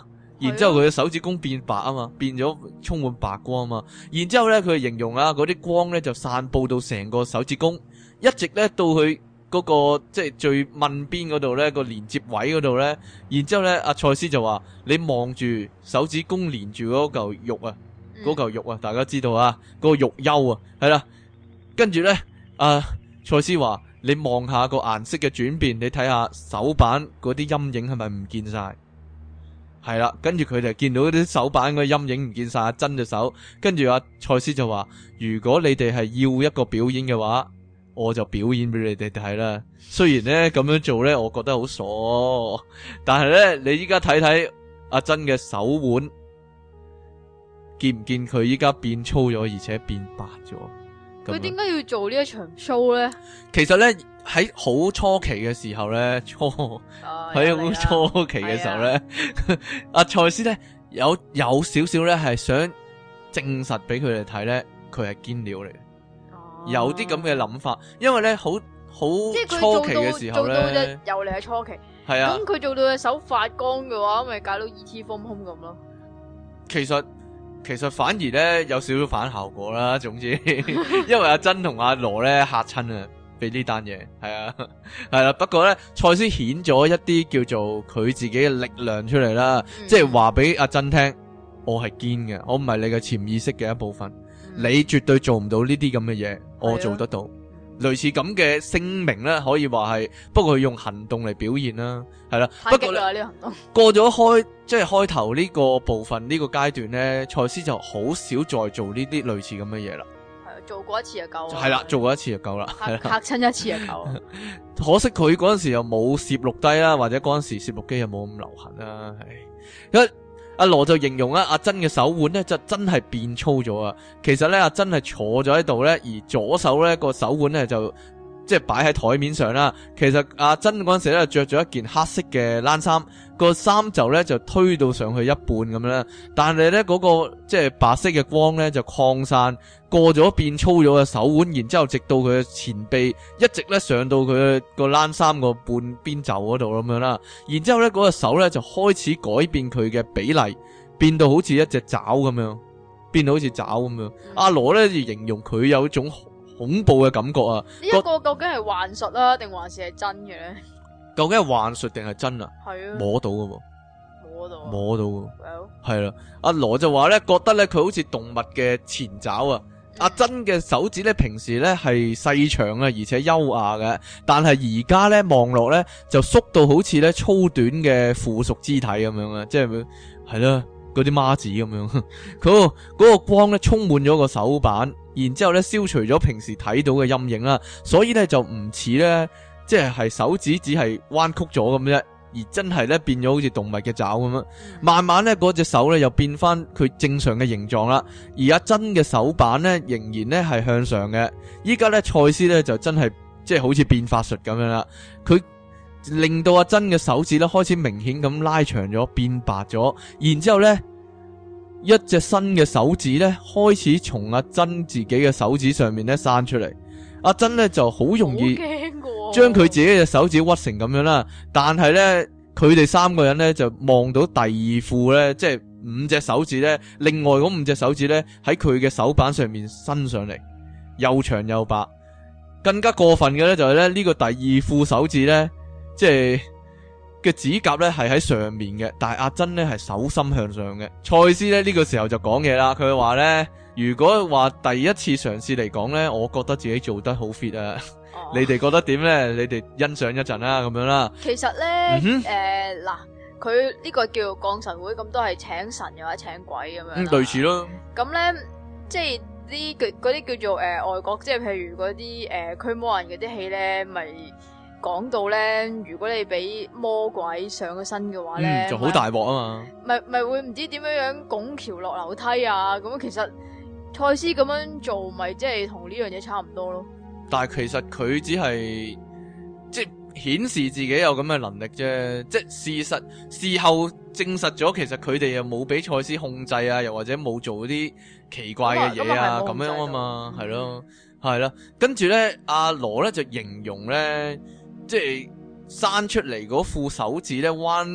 然之後佢嘅手指公變白啊嘛，變咗充滿白光啊嘛，然之後咧佢形容啊嗰啲光咧就散佈到成個手指公，一直咧到佢嗰個即係最問邊嗰度咧個連接位嗰度咧，然之後咧阿賽斯就話你望住手指公連住嗰嚿肉啊，嗰嚿肉啊，大家知道啊，嗰個肉丘啊，係啦，跟住咧賽斯話你望下個顏色嘅轉變，你睇下手板嗰啲陰影係咪唔見晒？係啦，跟住佢哋見到啲手板個陰影唔見晒，阿珍隻手，跟住阿賽斯就話：如果你哋係要一個表演嘅話，我就表演俾你哋睇啦。雖然咧咁樣做咧，我覺得好傻，但係咧你依家睇睇阿珍嘅手腕，見唔見佢依家變粗咗，而且變白咗？ 佢點解要做呢一場 show 咧？ 其實咧喺好初期嘅時候咧，喺好初期嘅時候咧，阿賽斯咧有少少咧係想證實俾佢哋睇咧，佢係堅料嚟嘅，有啲咁嘅諗法。因為咧好初期嘅時候咧， 又嚟係初期， 係啊。 咁佢做到隻手發光嘅話，咪搞到 E.T. 風空咁咯。 其實反而咧有少少反效果啦。總之，因為阿珍同阿羅咧嚇親啊，俾呢單嘢係啊，係啦。不過咧，賽斯顯咗一啲叫做佢自己嘅力量出嚟啦，即係話俾阿珍聽，我係堅嘅，我唔係你嘅潛意識嘅一部分，你絕對做唔到呢啲咁嘅嘢，我做得到。類似咁嘅聲明咧，可以話係，不過佢用行動嚟表現啦，係啦。不過呢個行動過咗即係開頭呢個部分呢個階段咧，賽斯就好少再做呢啲類似咁嘅嘢啦。係做過一次就夠啦。係啦，做過一次就夠啦。嚇親一次就夠。可惜佢嗰陣時又冇攝錄低啦，或者嗰陣時攝錄機又冇咁流行啦。係阿羅就形容阿珍嘅手腕咧就真係變粗咗啊！其實咧阿珍係坐咗喺度咧，而左手咧個手腕咧就即係擺喺台面上啦。其實阿珍嗰陣時咧着咗一件黑色嘅冷衫，個衫袖咧就推到上去一半咁樣啦。但係咧嗰個即係白色嘅光咧就擴散過咗變粗咗嘅手腕，然之後直到佢嘅前臂，一直咧上到佢個冷衫個半邊袖嗰度咁樣啦。然之後咧嗰個手咧就開始改變佢嘅比例，變到好似一隻爪咁樣，變到好似爪咁樣。阿羅咧就形容佢有一種恐怖嘅感覺啊！呢一個究竟係幻術啊，定還是係真嘅咧？ 究竟係幻術定係真啊？ 係啊， 摸到嘅喎。摸到嘅，係啦。阿羅就話咧，覺得咧佢好似動物嘅前爪啊。阿珍嘅手指咧，平時咧係細長啊，而且優雅嘅，但係而家咧望落咧就縮到好似咧粗短嘅附屬肢體咁樣啊，即係係啦，嗰啲孖子咁樣。嗰個光咧充滿咗個手板，然之後咧消除咗平時睇到嘅陰影啦，所以咧就唔似咧即係手指只係彎曲咗咁啫。而真係咧變咗好似動物嘅爪咁樣，慢慢咧嗰隻手咧又變翻佢正常嘅形狀啦。而阿珍嘅手板咧仍然咧係向上嘅。依家咧賽斯咧就真係即係好似變法術咁樣啦。佢令到阿珍嘅手指咧開始明顯咁拉長咗，變白咗。然之後咧一隻新嘅手指咧開始從阿珍自己嘅手指上面咧生出嚟。阿珍咧就好容易將佢自己嘅手指屈成咁樣啦，但係咧佢哋三個人咧就望到第二副咧，即係5隻手指咧，另外嗰5隻手指咧喺佢嘅手板上面伸上嚟，又長又白。更加過分嘅咧就係咧呢個第二副手指咧，即係嘅指甲咧係喺上面嘅，但係阿珍咧係手心向上嘅。賽斯咧呢個時候就講嘢啦，佢話咧，如果話第一次嘗試嚟講咧，我覺得自己做得好 fit 啊。你哋覺得點咧？你哋欣賞一陣啦，咁樣啦。 其實咧，嗱，佢呢個叫降神會，咁都係請神又或者請鬼咁樣。 類似咯。 咁咧，即係嗰啲叫做外國，即係譬如嗰啲驅魔人嗰啲戲咧，咪講到咧，如果你俾魔鬼上咗身嘅話咧， 就好大鑊啊嘛。咪會唔知點樣拱橋落樓梯啊？咁其實賽斯咁樣做，咪即係同呢樣嘢差唔多咯。 但係其實佢只係即係顯示自己有咁嘅能力啫，即係事後證實咗，其實佢哋又冇俾賽斯控制啊，又或者冇做啲奇怪嘅嘢啊，咁樣啊嘛，係咯，係啦。跟住咧，阿羅咧就形容咧，即係生出嚟嗰副手指咧彎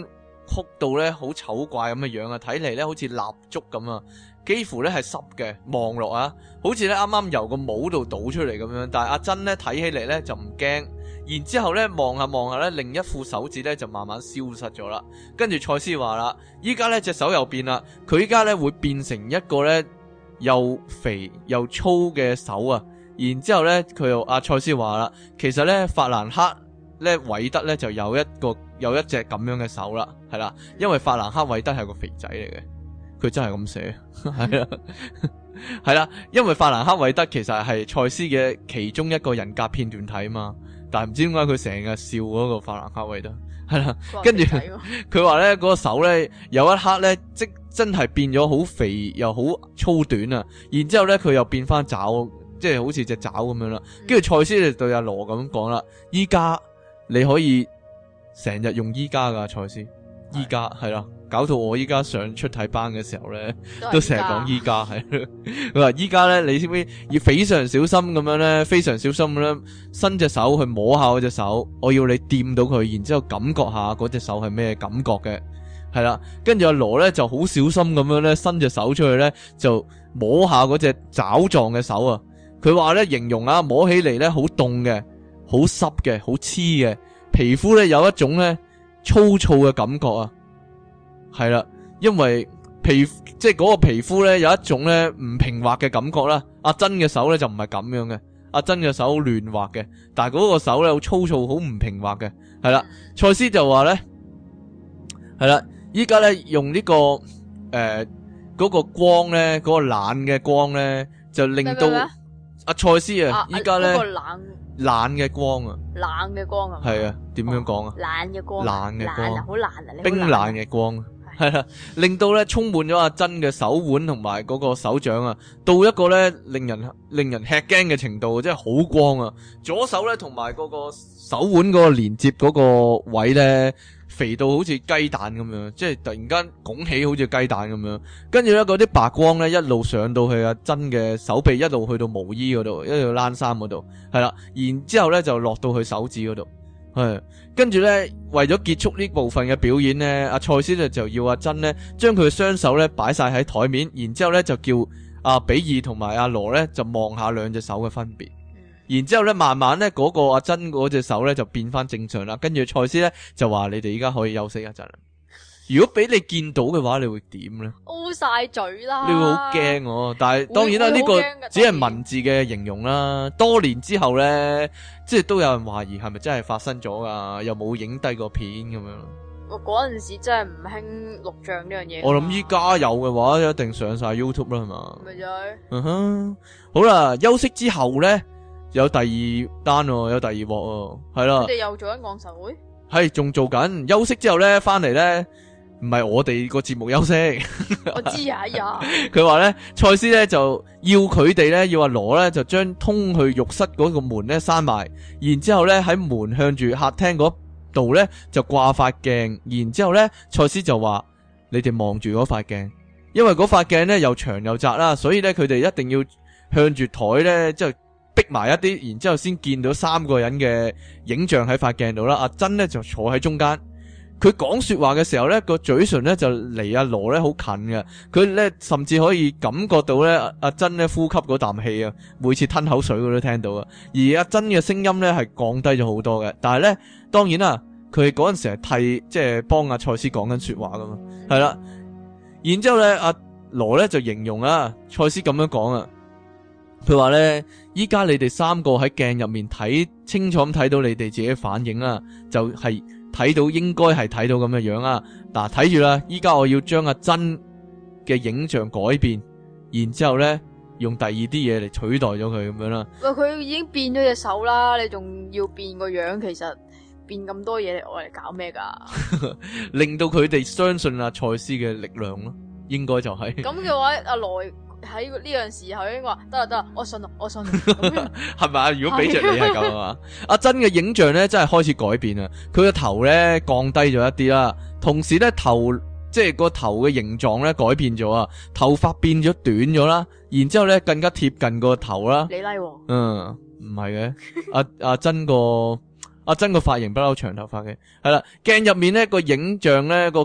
曲到咧好醜怪咁嘅樣啊，睇嚟咧好似蠟燭咁啊，幾乎咧係濕嘅，望落啊，好似咧啱啱由個帽度倒出嚟咁樣。但係阿珍咧睇起嚟咧就唔驚，然之後咧望下望下咧，另一副手指咧就慢慢消失咗啦。跟住賽斯話啦，依家咧隻手又變啦，佢依家咧會變成一個咧又肥又粗嘅手啊。然之後咧佢又阿賽斯話啦，其實咧法蘭克咧韋德咧就有一隻咁樣嘅手啦，係啦，因為法蘭克韋德係個肥仔嚟嘅，佢真係咁寫，係啦，係啦，因為法蘭克韋德其實係賽斯嘅其中一個人格片段體嘛，但係唔知點解佢成日笑嗰個法蘭克韋德，係啦，跟住佢話咧嗰個手咧有一刻咧即真係變咗好肥又好粗短啊，然之後咧佢又變翻爪，即係好似隻爪咁樣啦，跟住賽斯就對阿羅咁講啦，依家你可以成日用依家噶賽斯，依家係啦，搞到我依家上出體班嘅時候咧，都成日講依家係。佢話依家咧，你知唔知要非常小心咁樣咧，非常小心咁樣伸隻手去摸下嗰隻手，我要你掂到佢，然之後感覺下嗰隻手係咩感覺嘅，係啦。跟住阿羅咧就好小心咁樣咧伸隻手出去咧，就摸下嗰隻爪狀嘅手啊。佢話咧形容啊，摸起嚟咧好凍嘅，好濕嘅，好黐嘅，皮膚咧有一種咧粗糙嘅感覺啊，係啦，因為即係嗰個皮膚咧有一種咧唔平滑嘅感覺啦。阿珍嘅手咧就唔係咁樣嘅，阿珍嘅手亂滑嘅，但係嗰個手咧好粗糙，好唔平滑嘅，係啦。賽斯就話咧，係啦，依家咧用呢個嗰個光咧，嗰個冷嘅光咧，就令到阿賽斯啊，依家咧冷嘅光啊， 冷嘅光啊， 係啊，點樣講啊？ 冷嘅光， 冷嘅光， 好冷啊， 冰冷嘅光，係啦，令到咧充滿咗阿珍嘅手腕同埋嗰個手掌啊，到一個咧令人吃驚嘅程度，即係好光啊！左手咧同埋嗰個手腕嗰個連接嗰個位咧，肥到好似雞蛋咁樣，即係突然間拱起好似雞蛋咁樣，跟住咧嗰啲白光咧一路上到去阿珍嘅手臂，一路去到毛衣嗰度，一路冷衫嗰度，係啦，然之後咧就落到去手指嗰度，係，跟住咧為咗結束呢部分嘅表演咧，阿賽斯咧就要阿珍咧將佢嘅雙手咧擺晒喺台面，然之後咧就叫阿比爾同埋阿羅咧就望下兩隻手嘅分別。然之後咧，慢慢咧，嗰個阿珍嗰隻手咧就變翻正常啦。跟住賽斯咧就話：你哋依家可以休息一陣啦。如果俾你見到嘅話，你會點咧？O晒嘴啦！你會好驚喎。但係當然啦，呢個只係文字嘅形容啦。多年之後咧，即係都有人懷疑係咪真係發生咗噶？又冇影低個片咁樣。 我嗰陣時真係唔興錄像呢樣嘢。 我諗依家有嘅話，一定上晒 YouTube 啦，係嘛？ 咪就係。 嗯哼，好啦，休息之後咧。有第二單喎，有第二鑊喎，係啦。 佢哋又做緊講習會， 係仲做緊。休息之後咧，翻嚟咧，唔係我哋個節目休息。 我知啊，呀。佢話咧，賽斯咧就要佢哋咧，要阿羅咧就將通去浴室嗰個門咧閂埋，然之後咧喺門向住客廳嗰度咧就掛塊鏡，然之後咧賽斯就話：你哋望住嗰塊鏡，因為嗰塊鏡咧又長又窄啦，所以咧佢哋一定要向住台咧即係。逼埋一啲，然之後先見到三個人嘅影像喺塊鏡度啦。阿珍咧就坐喺中間，佢講說話嘅時候咧個嘴唇咧就離阿羅咧好近嘅，佢咧甚至可以感覺到咧阿珍咧呼吸嗰啖氣啊，每次吞口水佢都聽到啊。而阿珍嘅聲音咧係降低咗好多嘅，但係咧當然啦，佢嗰陣時係替即係幫阿賽斯講緊說話噶嘛，係啦。然之後咧阿羅咧就形容啊，賽斯咁樣講啊。佢話咧，依家你哋三個喺鏡入面睇清楚咁睇到你哋自己反應啦，就係睇到應該係睇到咁嘅樣啊。嗱，睇住啦，依家我要將阿珍嘅影像改變，然之後咧用第二啲嘢嚟取代咗佢咁樣啦。 喂，佢已經變咗隻手啦，你仲要變個樣？其實變咁多嘢嚟我嚟搞咩噶？ 令到佢哋相信阿賽斯嘅力量咯，應該就係。咁嘅話，阿羅喺呢樣時候應該話得啦，我信係咪啊？如果俾着你係咁啊嘛，阿珍嘅影像咧真係開始改變啊！佢個頭咧降低咗一啲啦，同時咧頭即係個頭嘅形狀咧改變咗啊，頭髮變咗短咗啦，然之後咧更加貼近個頭啦。 你拉喎？ 唔係嘅，阿珍個髮型不嬲長頭髮嘅，係啦，鏡入面咧個影像咧個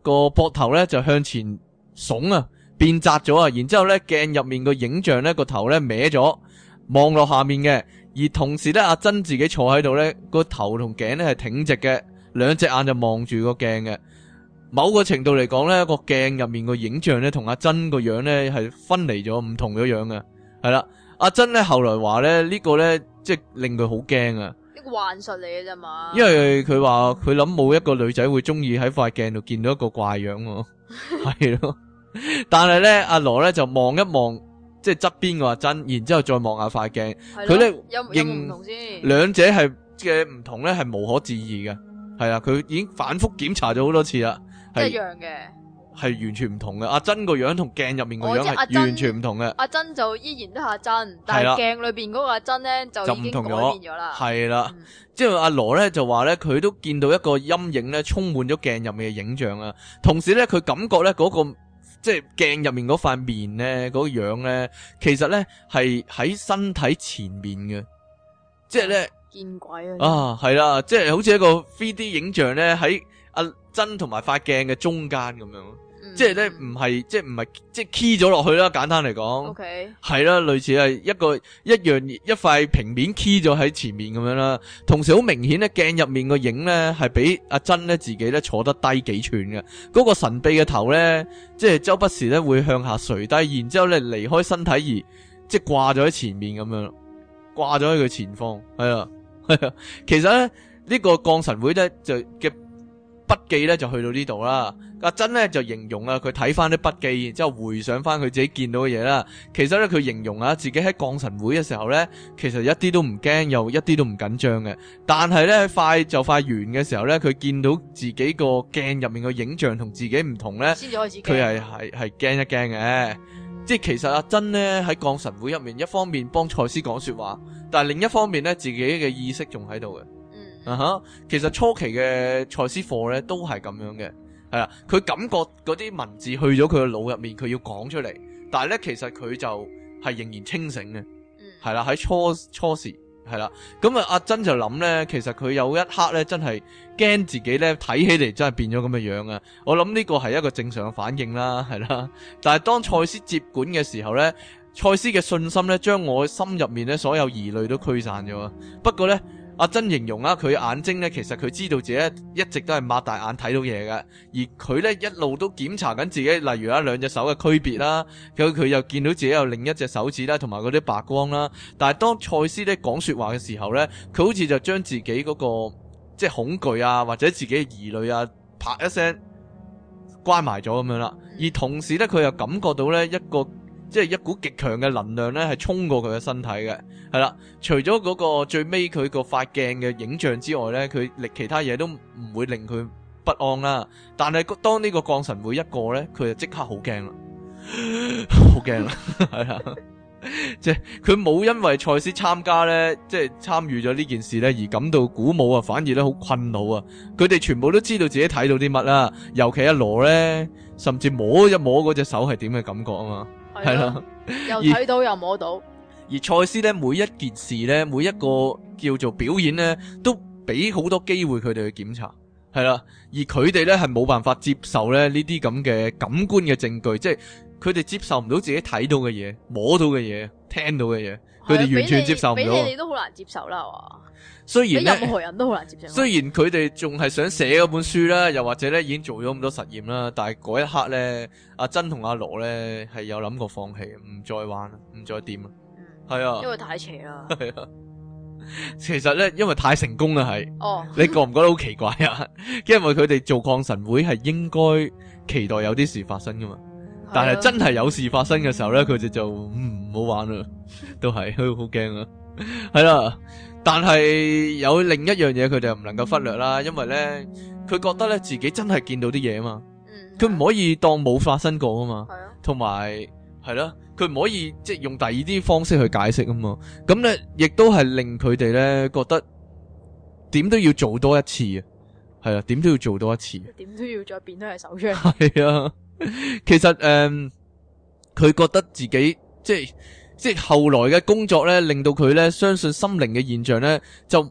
個膊頭咧就向前聳啊，變窄咗啊，然之後咧鏡入面個影像咧個頭咧歪咗，望落下面嘅，而同時咧阿珍自己坐喺度咧，個頭同頸咧係挺直嘅，兩隻眼就望住個鏡嘅。某個程度嚟講咧，個鏡入面個影像咧同阿珍個樣咧係分離咗，唔同嘅樣嘅，係啦。阿珍咧後來話咧呢個咧即係令佢好驚啊， 一個幻術嚟嘅啫嘛。 因為佢話佢諗冇一個女仔會中意喺塊鏡度見到一個怪樣喎，係咯。但係咧阿羅咧就望一望即係側邊個阿珍，然之後再望下塊鏡，佢咧有唔同先， 兩者係嘅唔同咧係無可置疑嘅，係啊，佢已經反覆檢查咗好多次啦。 一樣嘅， 係完全唔同嘅。阿珍個樣同鏡入面個樣係完全唔同嘅。 阿珍就依然都係阿珍，但係鏡裏邊嗰個阿珍咧就已經改變咗啦。 係啦，即係阿羅咧就話咧，佢都見到一個陰影咧，充滿咗鏡入面嘅影像啊。同時咧，佢感覺咧嗰個即係鏡入面嗰塊面咧，嗰個樣咧，其實咧係喺身體前面嘅，即係咧見鬼啊！係啦，即係好似一個 3D 影像咧喺阿珍同埋塊鏡嘅中間咁樣，即係咧唔係即係 key 咗落去啦，簡單嚟講，係啦，類似係一塊平面 key 咗喺前面咁樣啦。同時好明顯咧，鏡入面個影咧係比阿珍咧自己咧坐得低幾寸嘅，嗰個神秘嘅頭咧，即係周不時咧會向下垂低，然之後咧離開身體而即係掛咗喺前面咁樣，掛咗喺佢前方，係啊，其實咧呢個降神會咧就嘅筆記咧就去到呢度啦。阿珍咧就形容啊，佢睇翻啲筆記，然之後回想翻佢自己見到嘅嘢啦。其實咧佢形容啊，自己喺降神會嘅時候咧，其實一啲都唔驚，又一啲都唔緊張嘅。但係咧快完嘅時候咧，佢見到自己個鏡入面嘅影像同自己唔同咧，佢係驚一驚嘅。即係其實阿珍咧喺降神會入面，一方面幫賽斯講說話，但係另一方面咧自己嘅意識仲喺度嘅。其實初期嘅賽斯課咧都係咁樣嘅，係啦，佢感覺嗰啲文字去咗佢嘅腦入面，佢要講出嚟，但係咧其實佢就係仍然清醒嘅，係啦，喺初時係啦，咁啊阿珍就諗咧，其實佢有一刻咧真係驚自己咧睇起嚟真係變咗咁嘅樣啊！我諗呢個係一個正常嘅反應啦，係啦，但係當賽斯接管嘅時候咧，賽斯嘅信心咧將我心入面咧所有疑慮都驅散咗，不過咧。阿珍形容啊，佢眼睛咧，其實佢知道自己一直都係擘大眼睇到嘢嘅，而佢咧一路都檢查緊自己，例如兩隻手嘅區別啦，佢又見到自己有另一隻手指啦，同埋嗰啲白光啦。但係當賽斯咧講說話嘅時候咧，佢好似就將自己嗰個即係恐懼啊，或者自己嘅疑慮啊，啪一聲關埋咗咁樣啦。而同時咧，佢又感覺到咧即係一股極強嘅能量咧，係衝過佢嘅身體嘅，係啦。除咗嗰個最尾佢個塊鏡嘅影像之外咧，佢其他嘢都唔會令佢不安啦。但係當呢個降神會一過咧，佢就即刻好驚啦，好驚啦，係啦。即係佢冇因為賽斯參加咧，即係參與咗呢件事咧而感到鼓舞啊，反而咧好困惱啊。佢哋全部都知道自己睇到啲乜啦，尤其阿羅咧，甚至摸一摸嗰隻手係點嘅感覺啊嘛。係啦， 又睇到又摸到。 而賽斯咧，每一件事咧，每一個叫做表演咧，都俾好多機會佢哋去檢查，係啦。而佢哋咧係冇辦法接受咧呢啲咁嘅感官嘅證據，即係佢哋接受唔到自己睇到嘅嘢、摸到嘅嘢、聽到嘅嘢，佢哋完全接受唔到。俾你都好難接受啦，係嘛？ 雖然任何人都好難接受。 雖然佢哋仲係想寫嗰本書啦，又或者咧已經做咗咁多實驗啦，但係嗰一刻咧，阿珍同阿羅咧係有諗過放棄，唔再玩，唔再掂啊。係啊， 因為太邪啦。 係啊，其實咧，因為太成功啦，係。 哦。 你覺唔覺得好奇怪啊？因為佢哋做降神會係應該期待有啲事發生噶嘛，但係真係有事發生嘅時候咧，佢哋就唔好玩啦，都係好驚啊。係啦。但係有另一樣嘢佢哋又唔能夠忽略啦，因為咧佢覺得咧自己真係見到啲嘢啊嘛，佢唔可以當冇發生過啊嘛，同埋係咯，佢唔可以即係用第二啲方式去解釋啊嘛，咁咧亦都係令佢哋咧覺得點都要做多一次啊，係啊，點都要做多一次， 點都要再變多隻手出嚟， 係啊，其實佢覺得自己即係後來嘅工作咧，令到佢咧相信心靈嘅現象咧，就唔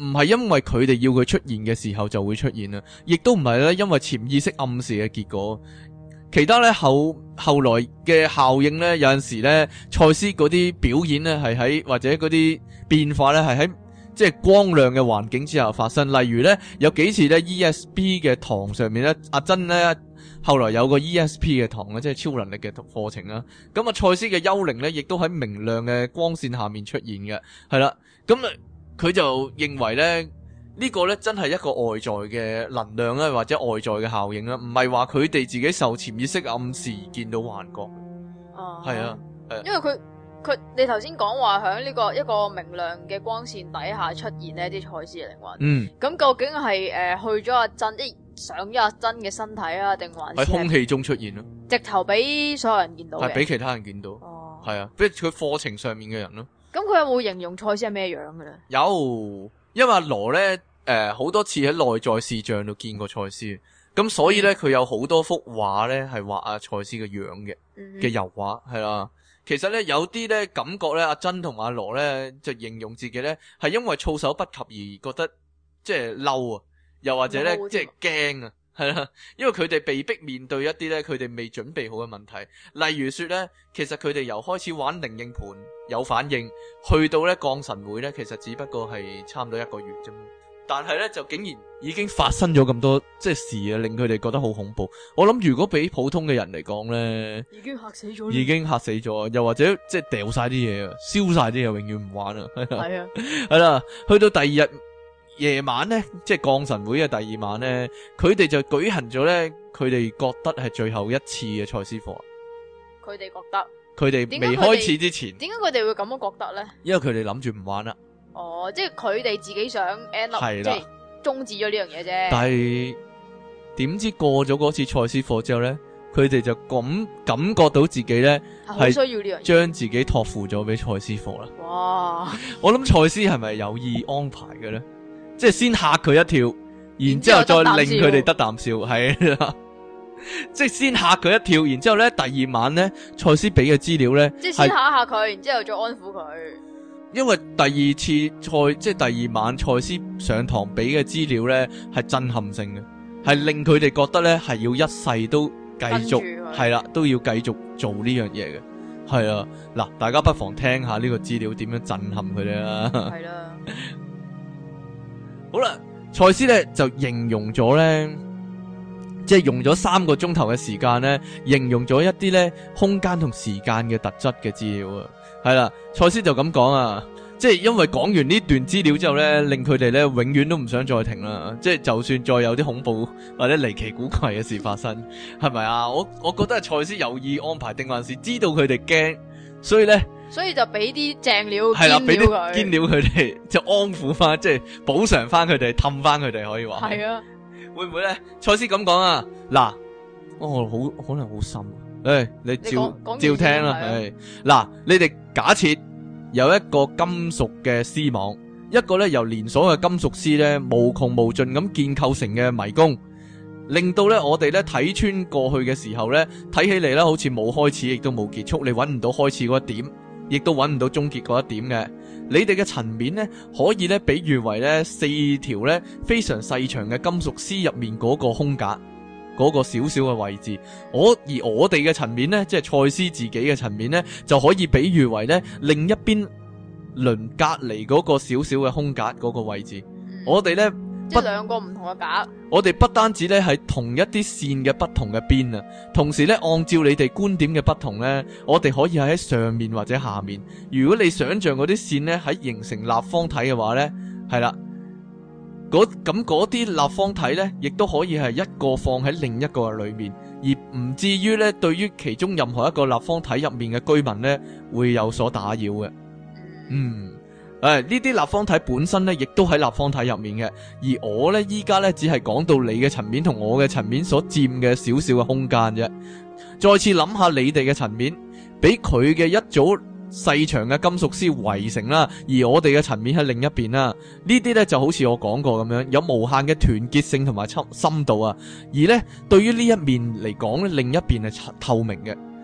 唔係因為佢哋要佢出現嘅時候就會出現啦，亦都唔係咧因為潛意識暗示嘅結果。其他咧後來嘅效應咧，有陣時咧，賽斯嗰啲表演咧係喺或者嗰啲變化咧係喺即係光亮嘅環境之下發生。例如咧有幾次咧 ESP 嘅堂上面咧，阿珍咧後來有個 ESP 嘅堂咧，即係超能力嘅課程啦。咁啊，賽斯嘅幽靈咧亦都喺明亮嘅光線下面出現嘅，係啦。咁啊，佢就認為咧。呢個咧真係一個外在嘅能量咧，或者外在嘅效應啦，唔係話佢哋自己受潛意識暗示而見到幻覺。係啊， 因為佢你頭先講話喺呢個一個明亮嘅光線底下出現呢啲賽斯嘅靈魂。咁究竟係去咗阿珍，上咗阿珍嘅身體啊，定還是喺空氣中出現咯？ 直頭俾所有人見到嘅， 係俾其他人見到。係啊，俾佢課程上面嘅人咯。 咁佢有冇形容賽斯係咩樣嘅咧？ 有。因為阿羅咧，好多次喺內在視像度見過賽斯，咁所以咧佢有好多幅畫咧係畫阿賽斯嘅樣嘅油畫，係啦。其實咧有啲咧感覺咧，阿珍同阿羅咧就形容自己咧係因為措手不及而覺得即係嬲啊，又或者咧即係驚啊，係啦。因為佢哋被逼面對一啲咧佢哋未準備好嘅問題，例如說咧，其實佢哋由開始玩靈應盤有反應，去到咧降神會咧，其實只不過係差唔多1個月啫嘛。但係咧就竟然已經發生咗咁多即係事啊，令佢哋覺得好恐怖。我諗如果俾普通嘅人嚟講咧，已經嚇死咗，又或者即係掉晒啲嘢啊，燒晒啲嘢，永遠唔玩啊。係啊，係啦，去到第二日夜晚咧，即係降神會嘅第二晚咧，佢哋就舉行咗咧，佢哋覺得係最後一次嘅賽斯課。 佢哋覺得。 佢哋未開始之前， 點解佢哋會咁樣覺得咧？ 因為佢哋諗住唔玩啦。 即係佢哋自己想 end up，即係終止咗呢樣嘢啫。 但係點知過咗嗰次賽斯課之後咧，佢哋就感覺到自己咧係需要呢樣嘢， 將自己託付咗俾賽斯課啦。 哇！ 我諗賽斯係咪有意安排嘅咧？即係先嚇佢一跳，然之後再令佢哋得啖笑，係啦。即係先嚇佢一跳，然之後咧第二晚咧，賽斯俾嘅資料咧， 即係先嚇下佢，然之後再安撫佢。 因為第二次即係第二晚賽斯上堂俾嘅資料咧係震撼性嘅，係令佢哋覺得咧係要一世都繼續係啦，都要繼續做呢樣嘢嘅，係啊。嗱，大家不妨聽下呢個資料點樣震撼佢哋啦。係啦，好啦，賽斯咧就形容咗咧。即係用咗3個鐘頭嘅時間咧，形容咗一啲咧空間同時間嘅特質嘅資料啊，係啦，賽斯就咁講啊，即係因為講完呢段資料之後咧，令佢哋咧永遠都唔想再停啦，即係就算再有啲恐怖或者離奇古怪嘅事發生，係咪啊？我覺得係賽斯有意安排定還是知道佢哋驚，所以就俾啲正料，係啦，俾啲堅料佢哋，就安撫翻，即係補償翻佢哋，氹翻佢哋，可以話係啊。會唔會咧？賽斯咁講啊，嗱，好可能好深，你照聽啦，嗱，你哋假設有一個金屬嘅絲網，一個咧由連鎖嘅金屬絲咧無窮無盡咁建構成嘅迷宮，令到咧我哋咧睇穿過去嘅時候咧，睇起嚟咧好似冇開始，亦都冇結束，你搵唔到開始嗰一點，亦都搵唔到終結嗰一點嘅。你哋嘅層面咧，可以咧比喻為咧4條咧非常細長嘅金屬絲入面嗰個空格，嗰個小小嘅位置。而我哋嘅層面咧，即係賽斯自己嘅層面咧，就可以比喻為咧另一邊鄰隔離嗰個小小嘅空格嗰個位置。我哋咧即係2個唔同嘅格。我哋不單止咧係同一啲線嘅不同嘅邊啊，同時咧按照你哋觀點嘅不同咧，我哋可以喺上面或者下面。如果你想象嗰啲線咧喺形成立方體嘅話咧，係啦，咁嗰啲立方體咧，亦都可以係一個放喺另一個裏面，而唔至於咧對於其中任何一個立方體入面嘅居民咧會有所打擾嘅。呢啲立方體本身咧，亦都喺立方體入面嘅。而我咧，依家咧只係講到你嘅層面同我嘅層面所佔嘅少少嘅空間啫。再次諗下你哋嘅層面，俾佢嘅一組細長嘅金屬絲圍成啦，而我哋嘅層面喺另一邊啦。呢啲咧就好似我講過咁樣，有無限嘅團結性同埋深度啊。而咧對於呢一面嚟講咧，另一邊係透明嘅。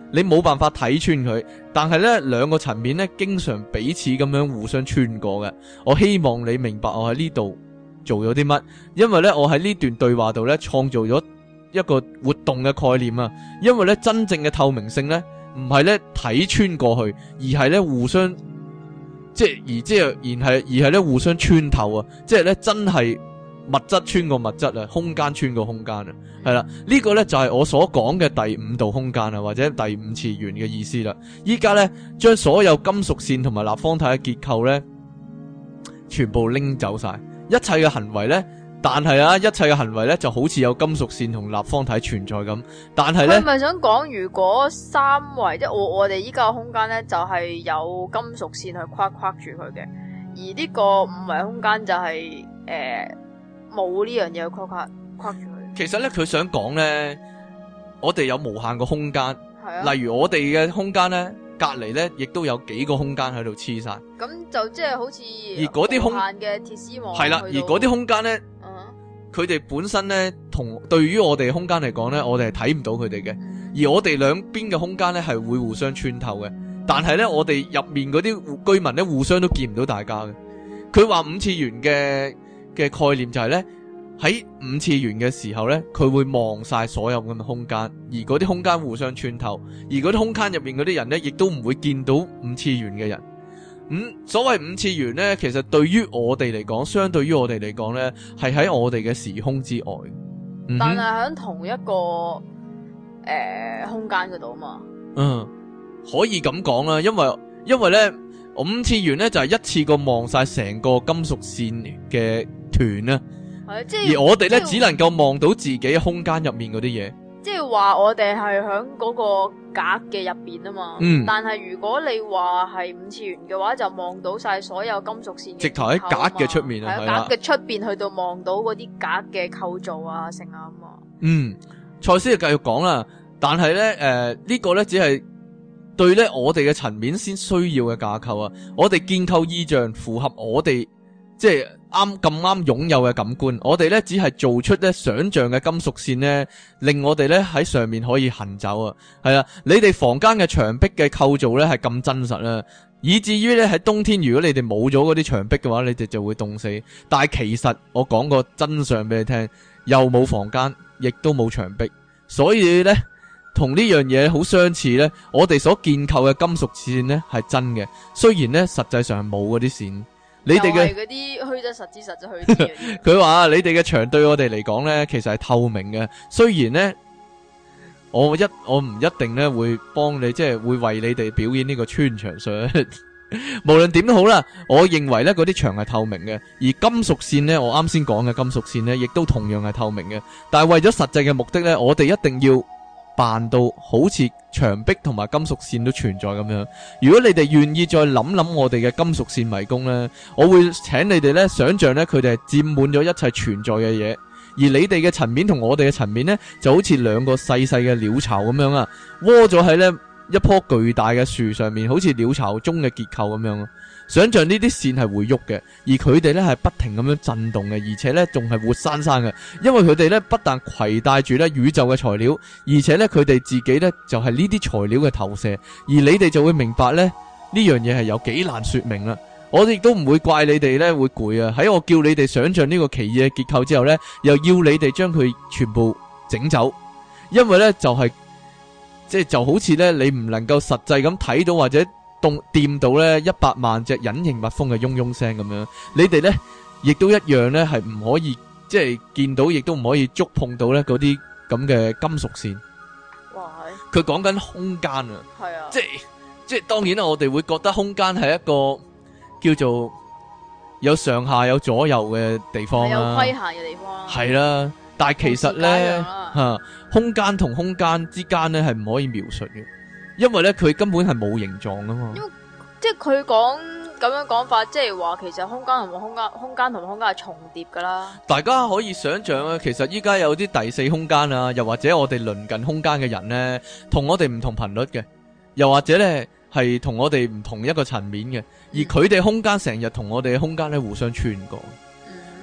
你冇辦法睇穿佢，但係呢兩個層面呢，經常彼此咁樣互相穿過嘅。我希望你明白我喺呢度做咗啲乜，因為呢，我喺呢段對話度呢，創造咗一個活動嘅概念啊。因為呢，真正嘅透明性呢，唔係呢睇穿過去，而係呢互相而係呢互相穿透啊！即係呢真係物質穿過物質啊，空間穿過空間啊，係啦，呢個呢就係我所講嘅第五度空間啊，或者第五次元嘅意思啦。依家呢，將所有金屬線同埋立方體嘅結構呢，全部拎走晒，一切嘅行為呢，但係啊，一切嘅行為呢就好似有金屬線同立方體存在咁，但係呢， 佢咪想講，如果三維即係我哋依家嘅空間呢，就係有金屬線去框住佢嘅，而呢個五維空間就係冇呢樣嘢去框住佢。其實咧，佢想講咧，我哋有無限個空間， 啊、 例如我哋嘅空間咧，隔離咧，亦都有幾個空間喺度黐晒。 咁就即係好似而嗰啲空無限嘅鐵絲網係啦，而嗰啲空間咧，佢哋本身咧，同對於我哋空間嚟講咧，我哋係睇唔到佢哋嘅。而我哋兩邊嘅空間咧，係會互相穿透嘅。但係咧，我哋入面嗰啲居民咧，互相都見唔到大家嘅。佢話五次元嘅概念就係咧，喺五次元嘅時候咧，佢會望晒所有咁嘅空間，而嗰啲空間互相穿透，而嗰啲空間入面嗰啲人咧，亦都唔會見到五次元嘅人。所謂五次元咧，其實對於我哋嚟講，相對於我哋嚟講咧，係喺我哋嘅時空之外， 但係喺同一個空間嗰度嘛。 可以咁講啦，因為咧五次元咧就係一次過望晒成個金屬線嘅團啦，而我哋咧只能夠望到自己空間入面嗰啲嘢。 即係話我哋係喺嗰個格嘅入邊啊嘛，但係如果你話係五次元嘅話，就望到晒所有金屬線，直頭喺格嘅出面啊，係格嘅出邊去到望到嗰啲格嘅構造啊，成啊嘛。 賽斯就繼續講啦，但係咧呢個咧只係對咧我哋嘅層面先需要嘅架構啊，我哋建構意象符合我哋即係咁啱擁有嘅感官，我哋咧只係做出咧想象嘅金屬線咧，令我哋咧喺上面可以行走啊。係啊，你哋房間嘅牆壁嘅構造咧係咁真實啦，以至於咧喺冬天如果你哋冇咗嗰啲牆壁嘅話，你哋就會凍死。但係其實我講個真相俾你聽，又冇房間，亦都冇牆壁，所以咧同呢樣嘢好相似咧，我哋所建構嘅金屬線咧係真嘅，雖然咧實際上係冇嗰啲線。你哋嘅嗰啲虛則實之，實則虛之嘅。 佢話你哋嘅牆對我哋嚟講咧，其實係透明嘅。雖然咧，我唔一定咧會幫你，即係會為你哋表演呢個穿牆術。無論點都好啦，我認為咧嗰啲牆係透明嘅，而金屬線咧，我啱先講嘅金屬線咧，亦都同樣係透明嘅。但係為咗實際嘅目的咧，我哋一定要扮到好似牆壁同埋金屬線都存在咁樣。如果你哋願意再諗諗我哋嘅金屬線迷宮呢，我會請你哋呢想象呢，佢哋係佔滿咗一切存在嘅嘢，而你哋嘅層面同我哋嘅層面呢，就好似兩個細細嘅鳥巢咁樣啊，窩咗喺呢一棵巨大嘅樹上面，好似鳥巢中嘅結構咁樣。想象呢啲線係會喐嘅，而佢哋呢係不停咁樣震動嘅，而且呢仲係活生生嘅，因為佢哋呢不但攜帶住呢宇宙嘅材料，而且呢佢哋自己呢就係呢啲材料嘅投射，而你哋就會明白呢樣嘢係有幾難說明啦。我哋亦都唔會怪你哋呢會攰啊，喺我叫你哋想象呢個奇異嘅結構之後呢，又要你哋將佢全部整走，因為呢就好似呢你唔能夠實際咁睇到或者掂到咧100萬隻隱形蜜蜂嘅嗡嗡聲咁樣，你哋咧亦都一樣咧係唔可以即係見到，亦都唔可以觸碰到咧嗰啲咁嘅金屬線。哇！佢講緊空間啊，係啊，即係當然啦，我哋會覺得空間係一個叫做有上下有左右嘅地方啦，有規限嘅地方啦，係啦。但係其實咧空間同空間之間咧係唔可以描述嘅。因為咧，佢根本係冇形狀噶嘛。因為即係佢講咁樣講法，即係話其實空間同空間係重疊噶啦。 大家可以想象啊，其實依家有啲第四空間啊，又或者我哋鄰近空間嘅人咧，同我哋唔同頻率嘅，又或者咧係同我哋唔同一個層面嘅，而佢哋空間成日同我哋嘅空間咧互相穿過。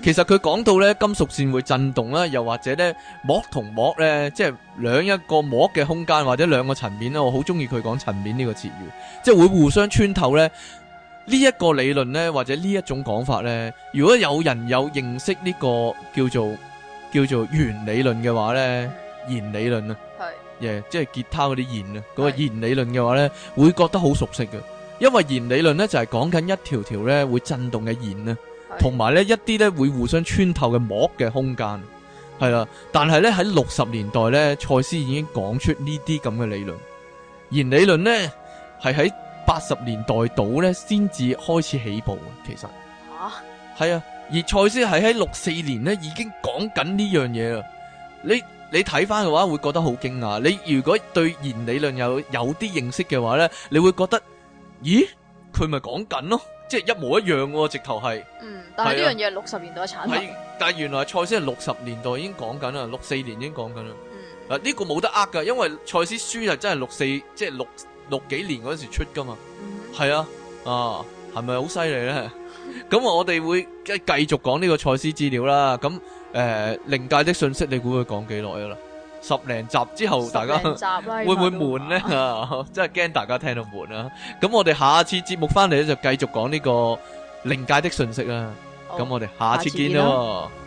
其實佢講到咧金屬線會震動啦，又或者咧膜同膜咧，即係一個膜嘅空間或者兩個層面啦，我好中意佢講層面呢個詞語，即係會互相穿透咧。呢一個理論咧，或者呢一種講法咧，如果有人有認識呢個叫做弦理論嘅話咧，弦理論啊，係，即係吉他嗰啲弦啊，嗰個弦理論嘅話咧，會覺得好熟悉嘅，因為弦理論咧就係講緊一條條咧會震動嘅弦啊，同埋咧一啲咧會互相穿透嘅膜嘅空間，係啦。但係咧喺60年代咧，賽斯已經講出呢啲咁嘅理論，弦理論咧係喺80年代度咧先至開始起步嘅，其實係啊，而賽斯係喺64年咧已經講緊呢樣嘢啦。你睇翻嘅話會覺得好驚訝。你如果對弦理論有啲認識嘅話咧，你會覺得咦，佢咪講緊咯，即係一模一樣喎，直頭係。 但係呢樣嘢係60年代嘅產品。 但係原來賽斯係60年代已經講緊啦，64年已經講緊啦。呢個冇得呃噶，因為賽斯書係真係64，即係六幾年嗰時出噶嘛，係啊，係咪好犀利咧？咁我哋會繼續講呢個賽斯資料啦。咁靈界的訊息，你估會講幾耐噶啦？10零集之後，大家會唔會悶咧？真係驚大家聽到悶啊！咁我哋下次節目翻嚟咧，就繼續講呢個靈界的訊息啦。咁我哋下次見咯。